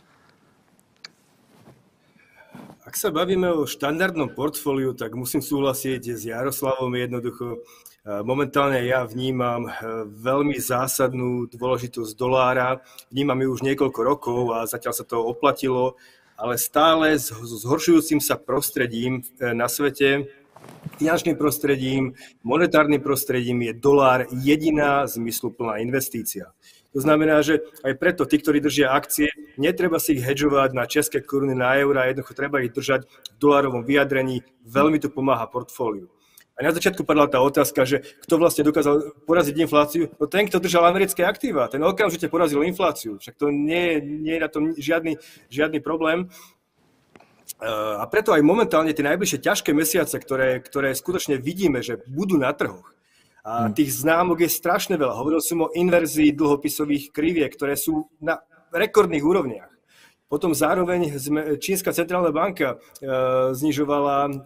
[SPEAKER 5] Ak sa bavíme o štandardnom portfóliu, tak musím súhlasiť s Jaroslavom jednoducho. Momentálne ja vnímam veľmi zásadnú dôležitosť dolára. Vnímam ju už niekoľko rokov a zatiaľ sa to oplatilo, ale stále s zhoršujúcim sa prostredím na svete, finančným prostredím, monetárnym prostredím je dolár jediná zmysluplná investícia. To znamená, že aj preto tí, ktorí držia akcie, netreba si ich hedžovať na české koruny, na eurá, jednoducho treba ich držať v dolárovom vyjadrení. Veľmi to pomáha portfóliu. A na začiatku padla tá otázka, že kto vlastne dokázal poraziť infláciu? No ten, kto držal americké aktíva, ten okamžite porazil infláciu. Však to nie, nie je na tom žiadny, žiadny problém. A preto aj momentálne tie najbližšie ťažké mesiace, ktoré, ktoré skutočne vidíme, že budú na trhoch, a tých známok je strašne veľa. Hovoril som o inverzii dlhopisových kriviek, ktoré sú na rekordných úrovniach. Potom zároveň Čínska centrálna banka e, znižovala e,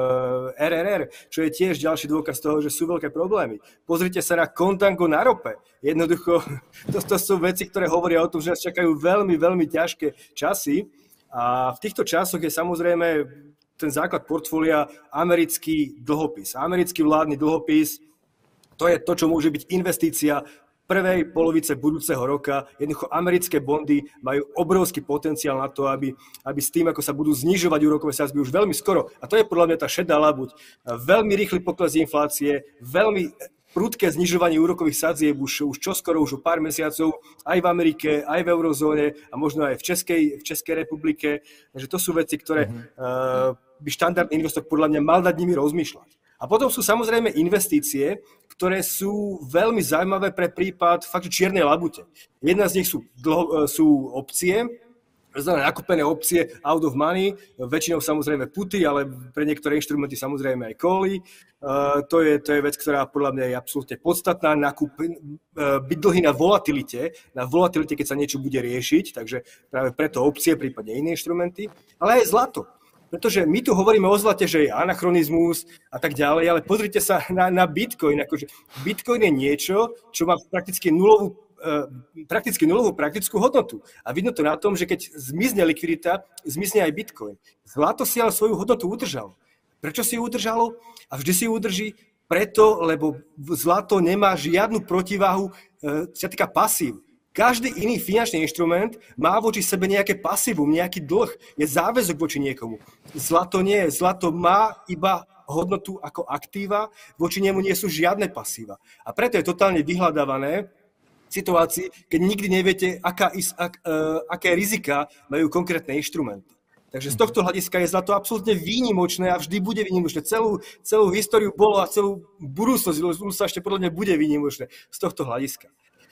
[SPEAKER 5] er er er, čo je tiež ďalší dôkaz toho, že sú veľké problémy. Pozrite sa na kontango na rope. Jednoducho, to, to sú veci, ktoré hovoria o tom, že nás čakajú veľmi, veľmi ťažké časy. A v týchto časoch je samozrejme ten základ portfólia americký dlhopis. Americký vládny dlhopis, to je to, čo môže byť investícia prvej polovice budúceho roka. Jednoducho americké bondy majú obrovský potenciál na to, aby, aby s tým, ako sa budú znižovať úrokové sadzby už veľmi skoro. A to je podľa mňa tá šedá labuť. Veľmi rýchly pokles inflácie, veľmi prudké znižovanie úrokových sadzieb už, už čoskoro, už o pár mesiacov, aj v Amerike, aj v eurozóne a možno aj v Českej, v Českej republike. Takže to sú veci, ktoré mm-hmm. uh, by štandardný investor podľa mňa mal nad nimi rozmýšľať. A potom sú samozrejme investície, ktoré sú veľmi zaujímavé pre prípad fakt čiernej labute. Jedna z nich sú, dlho, sú opcie, znamená nakúpené opcie out of money, väčšinou samozrejme puty, ale pre niektoré inštrumenty samozrejme aj cally. Uh, to, je, to je vec, ktorá podľa mňa je absolútne podstatná. Nakúp, uh, byť dlhý na volatilite, na volatilite, keď sa niečo bude riešiť, takže práve preto opcie, prípadne iné inštrumenty, ale aj zlato. Pretože my tu hovoríme o zlate, že je anachronizmus a tak ďalej, ale pozrite sa na, na Bitcoin. Akože Bitcoin je niečo, čo má prakticky nulovú, uh, prakticky nulovú praktickú hodnotu. A vidno to na tom, že keď zmizne likvidita, zmizne aj Bitcoin. Zlato si ale svoju hodnotu udržalo. Prečo si ju udržalo? A vždy si ju udrží preto, lebo zlato nemá žiadnu protiváhu, uh, čo sa týka pasív. Každý iný finančný inštrument má voči sebe nejaké pasívum, nejaký dlh, je záväzok voči niekomu. Zlato nie, zlato má iba hodnotu ako aktíva, voči nemu nie sú žiadne pasíva. A preto je totálne vyhľadávané v situácii, keď nikdy neviete, aká, ak, uh, aké rizika majú konkrétne inštrumenty. Takže z tohto hľadiska je zlato absolútne výnimočné a vždy bude výnimočné. Celú, celú históriu bolo a celú budúcnosť sa ešte podľa mňa bude výnimočné z tohto hľadiska.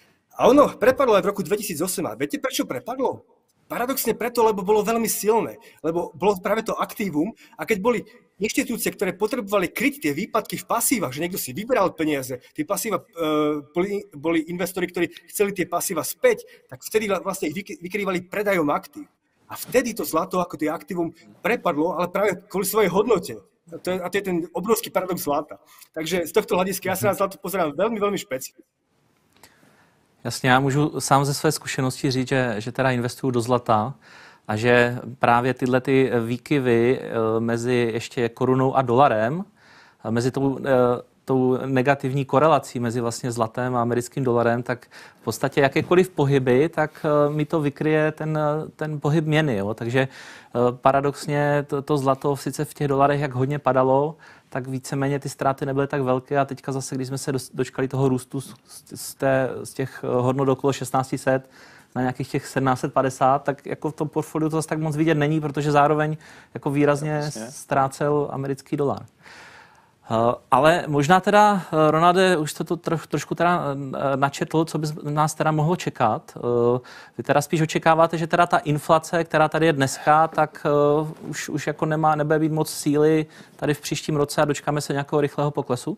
[SPEAKER 5] A ono prepadlo aj v roku dvetisícosem. A viete, prečo prepadlo? Paradoxne preto, lebo bolo veľmi silné. Lebo bolo práve to aktívum. A keď boli inštitúcie, ktoré potrebovali kryť tie výpadky v pasívach, že niekto si vyberal peniaze, tie pasíva, uh, boli, boli investori, ktorí chceli tie pasíva späť, tak vtedy vlastne ich vykrývali predajom aktív. A vtedy to zlato ako tie aktívum prepadlo, ale práve kvôli svojej hodnote. A to je, a to je ten obrovský paradox zlata. Takže z tohto hľadiska ja sa na zlato pozerám veľmi, veľmi špecificky.
[SPEAKER 2] Jasně, já můžu sám ze své zkušenosti říct, že, že teda investuju do zlata a že právě tyhle ty výkyvy mezi ještě korunou a dolarem, mezi tou tou negativní korelací mezi vlastně zlatem a americkým dolarem, tak v podstatě jakékoliv pohyby, tak mi to vykryje ten, ten pohyb měny. Jo? Takže paradoxně to, to zlato sice v těch dolarech jak hodně padalo, tak víceméně ty ztráty nebyly tak velké a teďka zase, když jsme se dočkali toho růstu z, z, té, z těch hodnot okolo šestnáct set na nějakých těch sedmnáct set padesát, tak jako v tom portfoliu to zase tak moc vidět není, protože zároveň jako výrazně ztrácel americký dolar. Ale možná teda, Ronalde, už jste to troš, trošku teda načetl, co by nás teda mohlo čekat. Vy teda spíš očekáváte, že teda ta inflace, která tady je dneska, tak už, už jako nemá, nebude být moc síly tady v příštím roce a dočkáme se nějakého rychlého poklesu?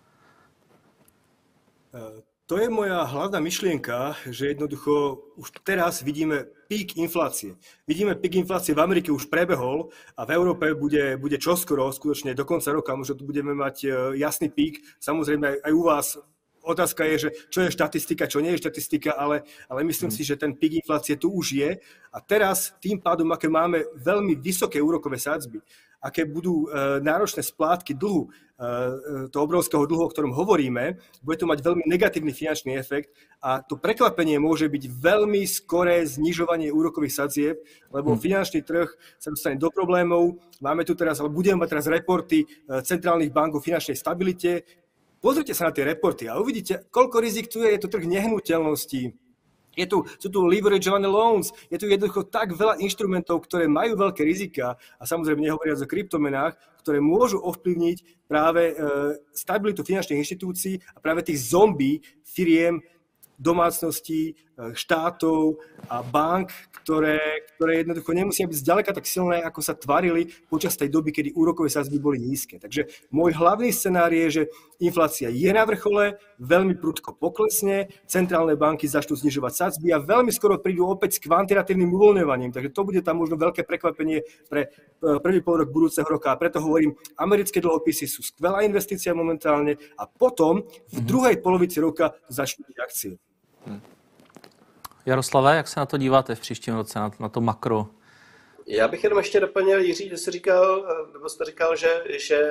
[SPEAKER 5] To je moja hlavná myšlienka, že jednoducho už teraz vidíme pík inflácie. Vidíme pík inflácie v Amerike už prebehol a v Európe bude, bude čoskoro, skutočne do konca roka, možno tu budeme mať jasný pík. Samozrejme aj u vás otázka je, že čo je štatistika, čo nie je štatistika, ale, ale myslím si, že ten pík inflácie tu už je. A teraz tým pádom, aké máme veľmi vysoké úrokové sadzby, aké budú e, náročné splátky dlhu, e, toho obrovského dlhu, o ktorom hovoríme, bude to mať veľmi negatívny finančný efekt a to prekvapenie môže byť veľmi skoré znižovanie úrokových sadzieb, lebo hmm. finančný trh sa dostane do problémov. Máme tu teraz, ale budeme mať teraz reporty e, centrálnych bank o finančnej stabilite. Pozrite sa na tie reporty a uvidíte, koľko rizik tu je. Je to trh nehnuteľností. Je tu, sú tu leveragované loans, je tu jednoducho tak veľa inštrumentov, ktoré majú veľké rizika a samozrejme nehovoriac o kryptomenách, ktoré môžu ovplyvniť práve e, stabilitu finančných inštitúcií a práve tých zombie firiem, domácností, štátov a bank, ktoré, ktoré jednoducho nemusia byť zďaleka tak silné, ako sa tvarili počas tej doby, kedy úrokové sadzby boli nízke. Takže môj hlavný scenár je, že inflácia je na vrchole, veľmi prudko poklesne, centrálne banky začnú znižovať sadzby a veľmi skoro prídu opäť s kvantitatívnym uvoľňovaním. Takže to bude tam možno veľké prekvapenie pre prvý polrok budúceho roka. A preto hovorím, americké dlhopisy sú skvelá investícia momentálne a potom v druhej polovici roka začnú byť akcie.
[SPEAKER 2] Jaroslave, jak se na to díváte v příštím roce, na, na to makro?
[SPEAKER 3] Já bych jenom ještě doplnil, Jiří, že jsi říkal, nebo jste říkal, že, že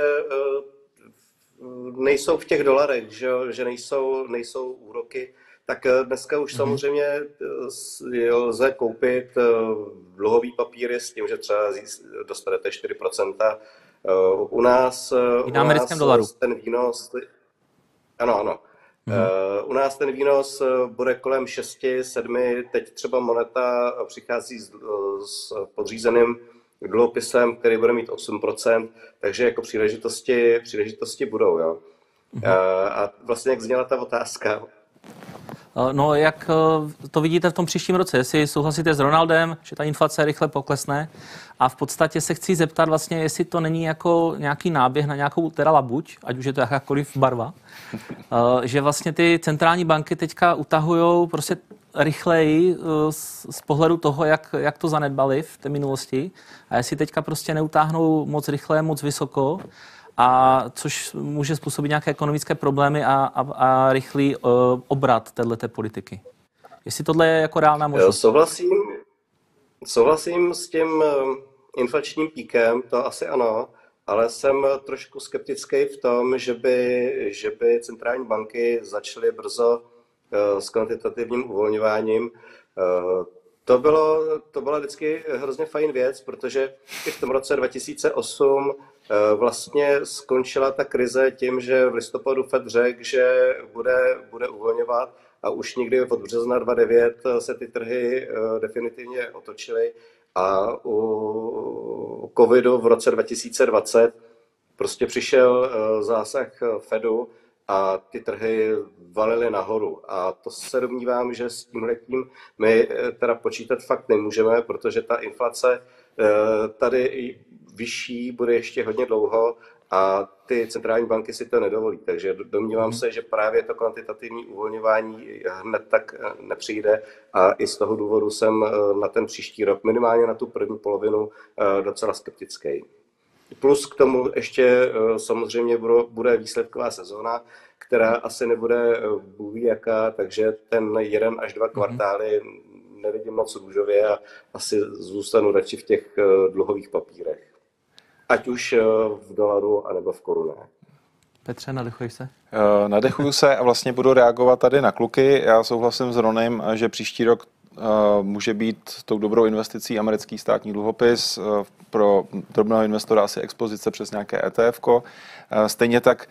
[SPEAKER 3] nejsou v těch dolarech, že, že nejsou, nejsou úroky, tak dneska už mm-hmm. samozřejmě lze koupit dluhový papíry s tím, že třeba dostanete čtyři procenta. U nás,
[SPEAKER 2] I na americkém dolaru.
[SPEAKER 3] Ten výnos, ano, ano. Uh, u nás ten výnos bude kolem šest sedm, teď třeba Moneta přichází s, s podřízeným dluhopisem, který bude mít osm procent, takže jako příležitosti, příležitosti budou. Jo. Uh, a vlastně jak zněla ta otázka?
[SPEAKER 2] No, jak to vidíte v tom příštím roce? Jestli souhlasíte s Ronaldem, že ta inflace rychle poklesne a v podstatě se chci zeptat vlastně, jestli to není jako nějaký náběh na nějakou teda labuť, ať už je to jakákoliv barva, že vlastně ty centrální banky teďka utahujou prostě rychleji z, z pohledu toho, jak, jak to zanedbali v té minulosti a jestli teďka prostě neutáhnou moc rychle, moc vysoko, a což může způsobit nějaké ekonomické problémy a, a, a rychlý uh, obrat téhleté politiky. Jestli tohle je jako reálná možnost?
[SPEAKER 3] Souhlasím, souhlasím s tím inflačním píkem, to asi ano, ale jsem trošku skeptický v tom, že by, že by centrální banky začaly brzo uh, s kvantitativním uvolňováním. Uh, to, bylo, to byla vždycky hrozně fajn věc, protože i v tom roce dva tisíce osm vlastně skončila ta krize tím, že v listopadu Fed řekl, že bude, bude uvolňovat a už někdy od března dva tisíce devět se ty trhy definitivně otočily a u covidu v roce dva tisíce dvacet prostě přišel zásah Fedu a ty trhy valily nahoru. A to se domnívám, že s tímhletím my teda počítat fakt nemůžeme, protože ta inflace tady vyšší bude ještě hodně dlouho a ty centrální banky si to nedovolí. Takže domnívám se, že právě to kvantitativní uvolňování hned tak nepřijde a i z toho důvodu jsem na ten příští rok, minimálně na tu první polovinu, docela skeptický. Plus k tomu ještě samozřejmě bude výsledková sezóna, která asi nebude bůh jaká, takže ten jeden až dva kvartály nevidím moc růžově a asi zůstanu radši v těch dluhových papírech. Ať už v dolaru, anebo v korunách.
[SPEAKER 2] Petře, nadechuješ se?
[SPEAKER 4] Uh, nadechuju se a vlastně budu reagovat tady na kluky. Já souhlasím s Ronem, že příští rok uh, může být tou dobrou investicí americký státní dluhopis. Uh, pro drobného investora asi expozice přes nějaké E T F ko. Uh, stejně tak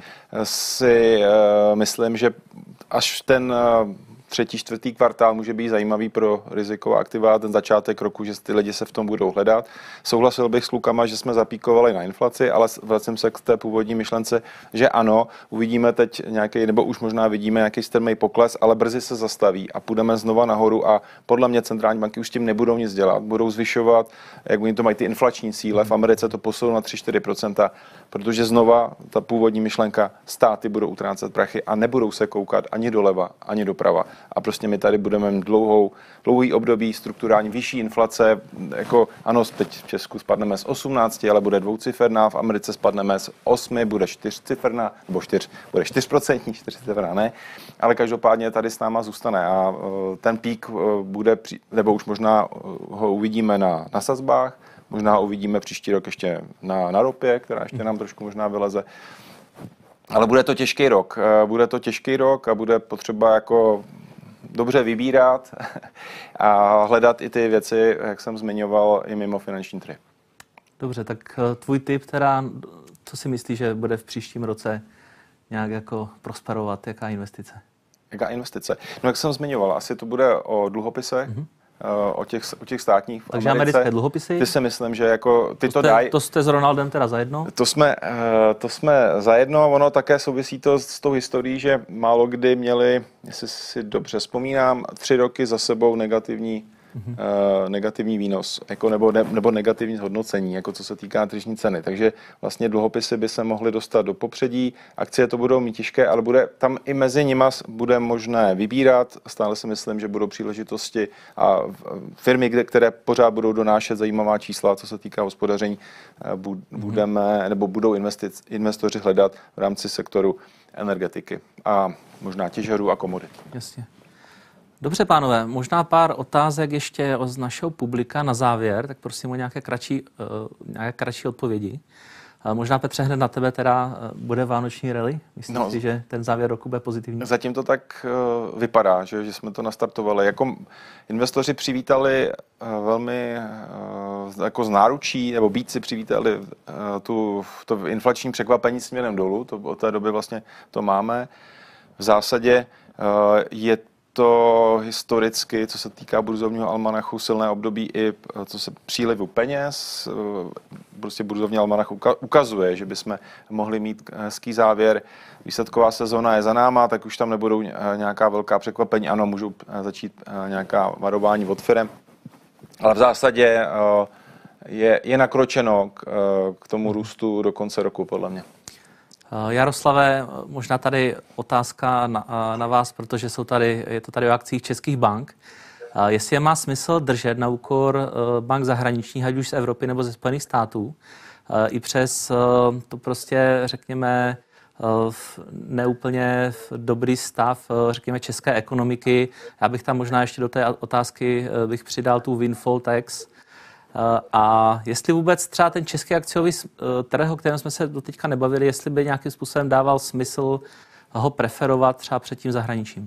[SPEAKER 4] si uh, myslím, že až ten uh, třetí, čtvrtý kvartál může být zajímavý pro riziková aktiva, ten začátek roku, že ty lidi se v tom budou hledat. Souhlasil bych s klukama, že jsme zapíkovali na inflaci, ale vracím se k té původní myšlence, že ano, uvidíme teď nějaký, nebo už možná vidíme nějaký strmý pokles, ale brzy se zastaví a půjdeme znova nahoru a podle mě centrální banky už s tím nebudou nic dělat, budou zvyšovat, jak oni to mají ty inflační cíle, v Americe to posunou na tři až čtyři procenta, protože znova ta původní myšlenka, státy budou utrácet prachy a nebudou se koukat ani doleva, ani doprava. A prostě my tady budeme mít dlouhou, dlouhý období strukturální vyšší inflace, jako ano, teď v Česku spadneme z osmnácti, ale bude dvouciferná, v Americe spadneme z osmi, bude čtyřciferná, nebo čtyř, bude čtyřprocentní, čtyřciferná, ne, ale každopádně tady s náma zůstane a ten pík bude, nebo už možná ho uvidíme na, na sazbách, možná uvidíme příští rok ještě na, na ropě, která ještě nám trošku možná vyleze. Ale bude to těžký rok. Bude to těžký rok a bude potřeba jako dobře vybírat a hledat i ty věci, jak jsem zmiňoval, i mimo finanční trhy.
[SPEAKER 2] Dobře, tak tvůj tip teda, co si myslíš, že bude v příštím roce nějak jako prosperovat? Jaká investice?
[SPEAKER 4] Jaká investice? No jak jsem zmiňoval, asi to bude o dluhopisech, mm-hmm. O těch, o těch státních v
[SPEAKER 2] Takže
[SPEAKER 4] Americe.
[SPEAKER 2] americké dluhopisy?
[SPEAKER 4] Ty si myslím, že jako ty to,
[SPEAKER 2] to
[SPEAKER 4] dají.
[SPEAKER 2] To jste s Ronaldem teda zajedno?
[SPEAKER 4] To jsme, to jsme zajedno, ono také souvisí to s tou historií, že málo kdy měli, jestli si dobře vzpomínám, tři roky za sebou negativní, mm-hmm. uh, negativní výnos, jako nebo, ne, nebo negativní zhodnocení, jako co se týká tržní ceny. Takže vlastně dluhopisy by se mohly dostat do popředí, akcie to budou mít těžké, ale bude tam i mezi nimi bude možné vybírat. Stále si myslím, že budou příležitosti a firmy, které pořád budou donášet zajímavá čísla, co se týká hospodaření, budeme, nebo budou investic, investoři hledat v rámci sektoru energetiky a možná těžarů a komodit.
[SPEAKER 2] Jasně. Dobře, pánové, možná pár otázek ještě z našeho publika na závěr, tak prosím o nějaké kratší, uh, nějaké kratší odpovědi. Uh, možná, Petře, hned na tebe teda uh, bude vánoční rally? Myslíš no, si, že ten závěr roku bude pozitivní?
[SPEAKER 4] Zatím to tak uh, vypadá, že, že jsme to nastartovali. Jako investoři přivítali uh, velmi uh, jako z náručí, nebo bíci přivítali uh, tu, to inflační překvapení směrem dolů, to, od té doby vlastně to máme. V zásadě uh, je to historicky, co se týká burzovního almanachu, silné období i co se přílivu peněz. Prostě burzovní almanach ukazuje, že bychom mohli mít hezký závěr. Výsledková sezóna je za náma, tak už tam nebudou nějaká velká překvapení. Ano, můžou začít nějaká varování od firem, ale v zásadě je, je nakročeno k, k tomu růstu do konce roku, podle mě.
[SPEAKER 2] Jaroslave, možná tady otázka na, na vás, protože jsou tady, je to tady o akcích českých bank. Jestli je má smysl držet na úkor bank zahraničních, ať už z Evropy nebo ze Spojených států, i přes to prostě, řekněme, neúplně dobrý stav, řekněme, české ekonomiky. Já bych tam možná ještě do té otázky bych přidal tu windfall tax. A jestli vůbec třeba ten český akciový trh, o kterém jsme se doteďka nebavili, jestli by nějakým způsobem dával smysl ho preferovat třeba před tím zahraničím?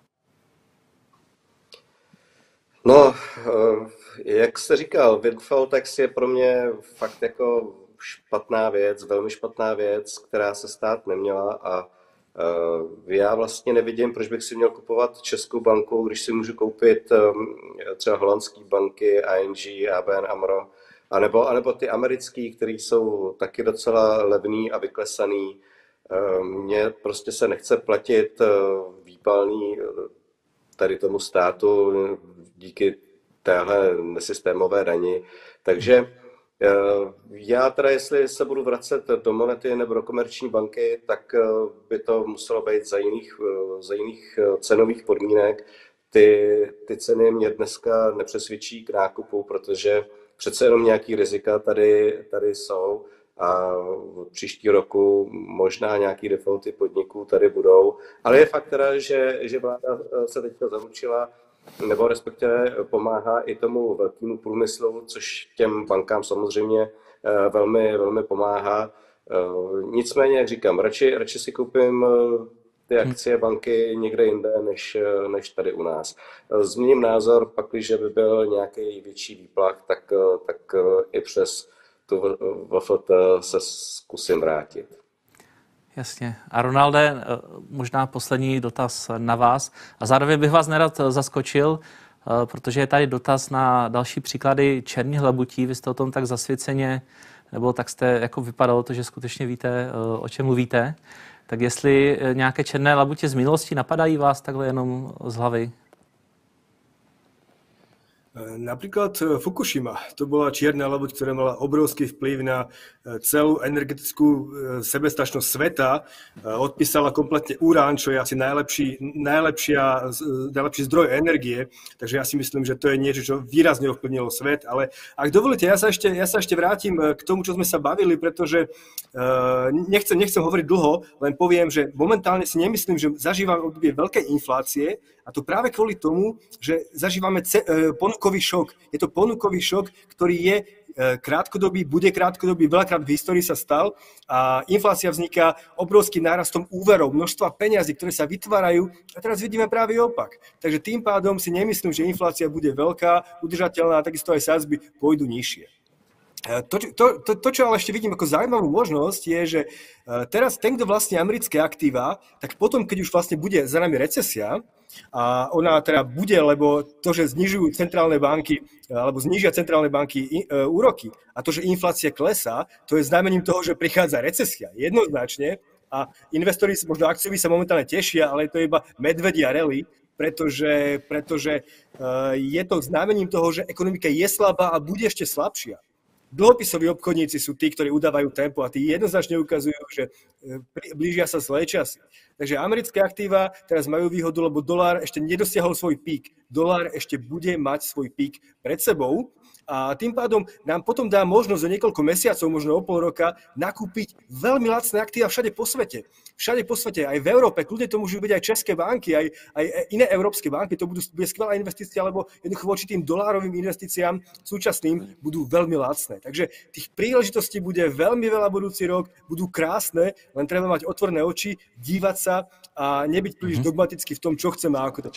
[SPEAKER 3] No, jak jste říkal, windfall tax je pro mě fakt jako špatná věc, velmi špatná věc, která se stát neměla a já vlastně nevidím, proč bych si měl kupovat českou banku, když si můžu koupit třeba holandské banky, I N G, A B N AMRO, anebo, anebo ty americké, které jsou taky docela levný a vyklesaný. Mně prostě se nechce platit výpalný tady tomu státu díky téhle nesystémové dani. Takže já teda, jestli se budu vracet do Monety nebo do Komerční banky, tak by to muselo být za jiných, za jiných cenových podmínek. Ty, ty ceny mě dneska nepřesvědčí k nákupu, protože přece jenom nějaký rizika tady, tady jsou a v příští roku možná nějaký defaulty podniků tady budou. Ale je fakt teda, že, že vláda se teďka zaručila, nebo respektive pomáhá i tomu velkému průmyslu, což těm bankám samozřejmě velmi, velmi pomáhá. Nicméně, jak říkám, radši, radši si koupím ty akcie banky někde jinde, než, než tady u nás. Změním názor, pak, když by byl nějaký větší výplach, tak, tak i přes tu V F T se zkusím vrátit.
[SPEAKER 2] Jasně. A Ronalde, možná poslední dotaz na vás. A zároveň bych vás nerad zaskočil, protože je tady dotaz na další příklady černých labutí. Vy jste o tom tak zasvěceně, nebo tak jste jako vypadalo to, že skutečně víte, o čem mluvíte. Tak jestli nějaké černé labutě z minulosti napadají vás takhle jenom z hlavy?
[SPEAKER 5] Napríklad Fukushima, to bola čierna labuť, ktorá mala obrovský vplyv na celú energetickú sebestačnosť sveta. Odpísala kompletne urán, čo je asi najlepší, najlepšia, najlepší zdroj energie. Takže ja si myslím, že to je niečo, čo výrazne ovplyvnilo svet. Ale ak dovolíte, ja sa ešte, ja sa ešte vrátim k tomu, čo sme sa bavili, pretože nechcem, nechcem hovoriť dlho, len poviem, že momentálne si nemyslím, že zažívame obdobie veľkej inflácie, a to práve kvôli tomu, že zažívame ce- ponukový šok. Je to ponukový šok, ktorý je krátkodobý, bude krátkodobý, veľakrát v histórii sa stal a inflácia vzniká obrovským nárastom úverov, množstva peňazí, ktoré sa vytvárajú a teraz vidíme práve opak. Takže tým pádom si nemyslím, že inflácia bude veľká, udržateľná a takisto aj sadzby pôjdu nižšie. To, to, to, to, čo ale ešte vidím ako zaujímavú možnosť, je, že teraz ten, kto vlastní americké aktíva, tak potom, keď už vlastne bude za nami recesia, a ona teda bude, lebo to, že znižujú centrálne banky, alebo znižia centrálne banky úroky a to, že inflácia klesá, to je znamením toho, že prichádza recesia. Jednoznačne. A investori, možno akcioví sa momentálne tešia, ale to je iba medvedia rally, pretože, pretože je to znamením toho, že ekonomika je slabá a bude ešte slabšia. Dlhopisoví obchodníci sú tí, ktorí udávajú tempo a tí jednoznačne ukazujú, že blížia sa zlé časy. Takže americké aktíva teraz majú výhodu, lebo dolár ešte nedosiahol svoj pík. Dolár ešte bude mať svoj pík pred sebou a tým pádom nám potom dá možnosť za niekoľko mesiacov, možno o pol roka, nakúpiť veľmi lacné aktíva všade po svete. Všade po svete, aj v Európe, kľudne to môžu byť aj české banky, aj, aj iné európske banky, to budú, bude skvelá investícia, lebo jednoducho voči tým dolárovým investíciám súčasným budú veľmi lacné. Takže tých príležitostí bude veľmi veľa budúci rok, budú krásne, len treba mať otvorené oči, dívať sa a nebyť príliš dogmaticky v tom, čo chceme a ako to.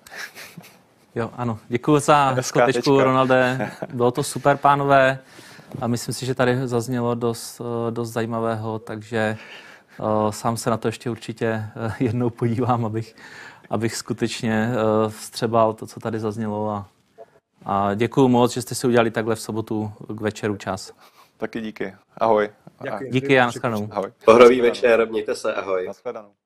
[SPEAKER 2] Jo, ano. Děkuji za skutečku, Ronalde. Bylo to super, pánové. A myslím si, že tady zaznělo dost, dost zajímavého, takže uh, sám se na to ještě určitě uh, jednou podívám, abych, abych skutečně uh, vstřebal to, co tady zaznělo. A, a děkuji moc, že jste si udělali takhle v sobotu k večeru čas.
[SPEAKER 4] Taky díky. Ahoj.
[SPEAKER 2] Děkuji. Díky a nashledanou.
[SPEAKER 3] Pohrový večer, mějte se, ahoj.
[SPEAKER 4] Nashledanou.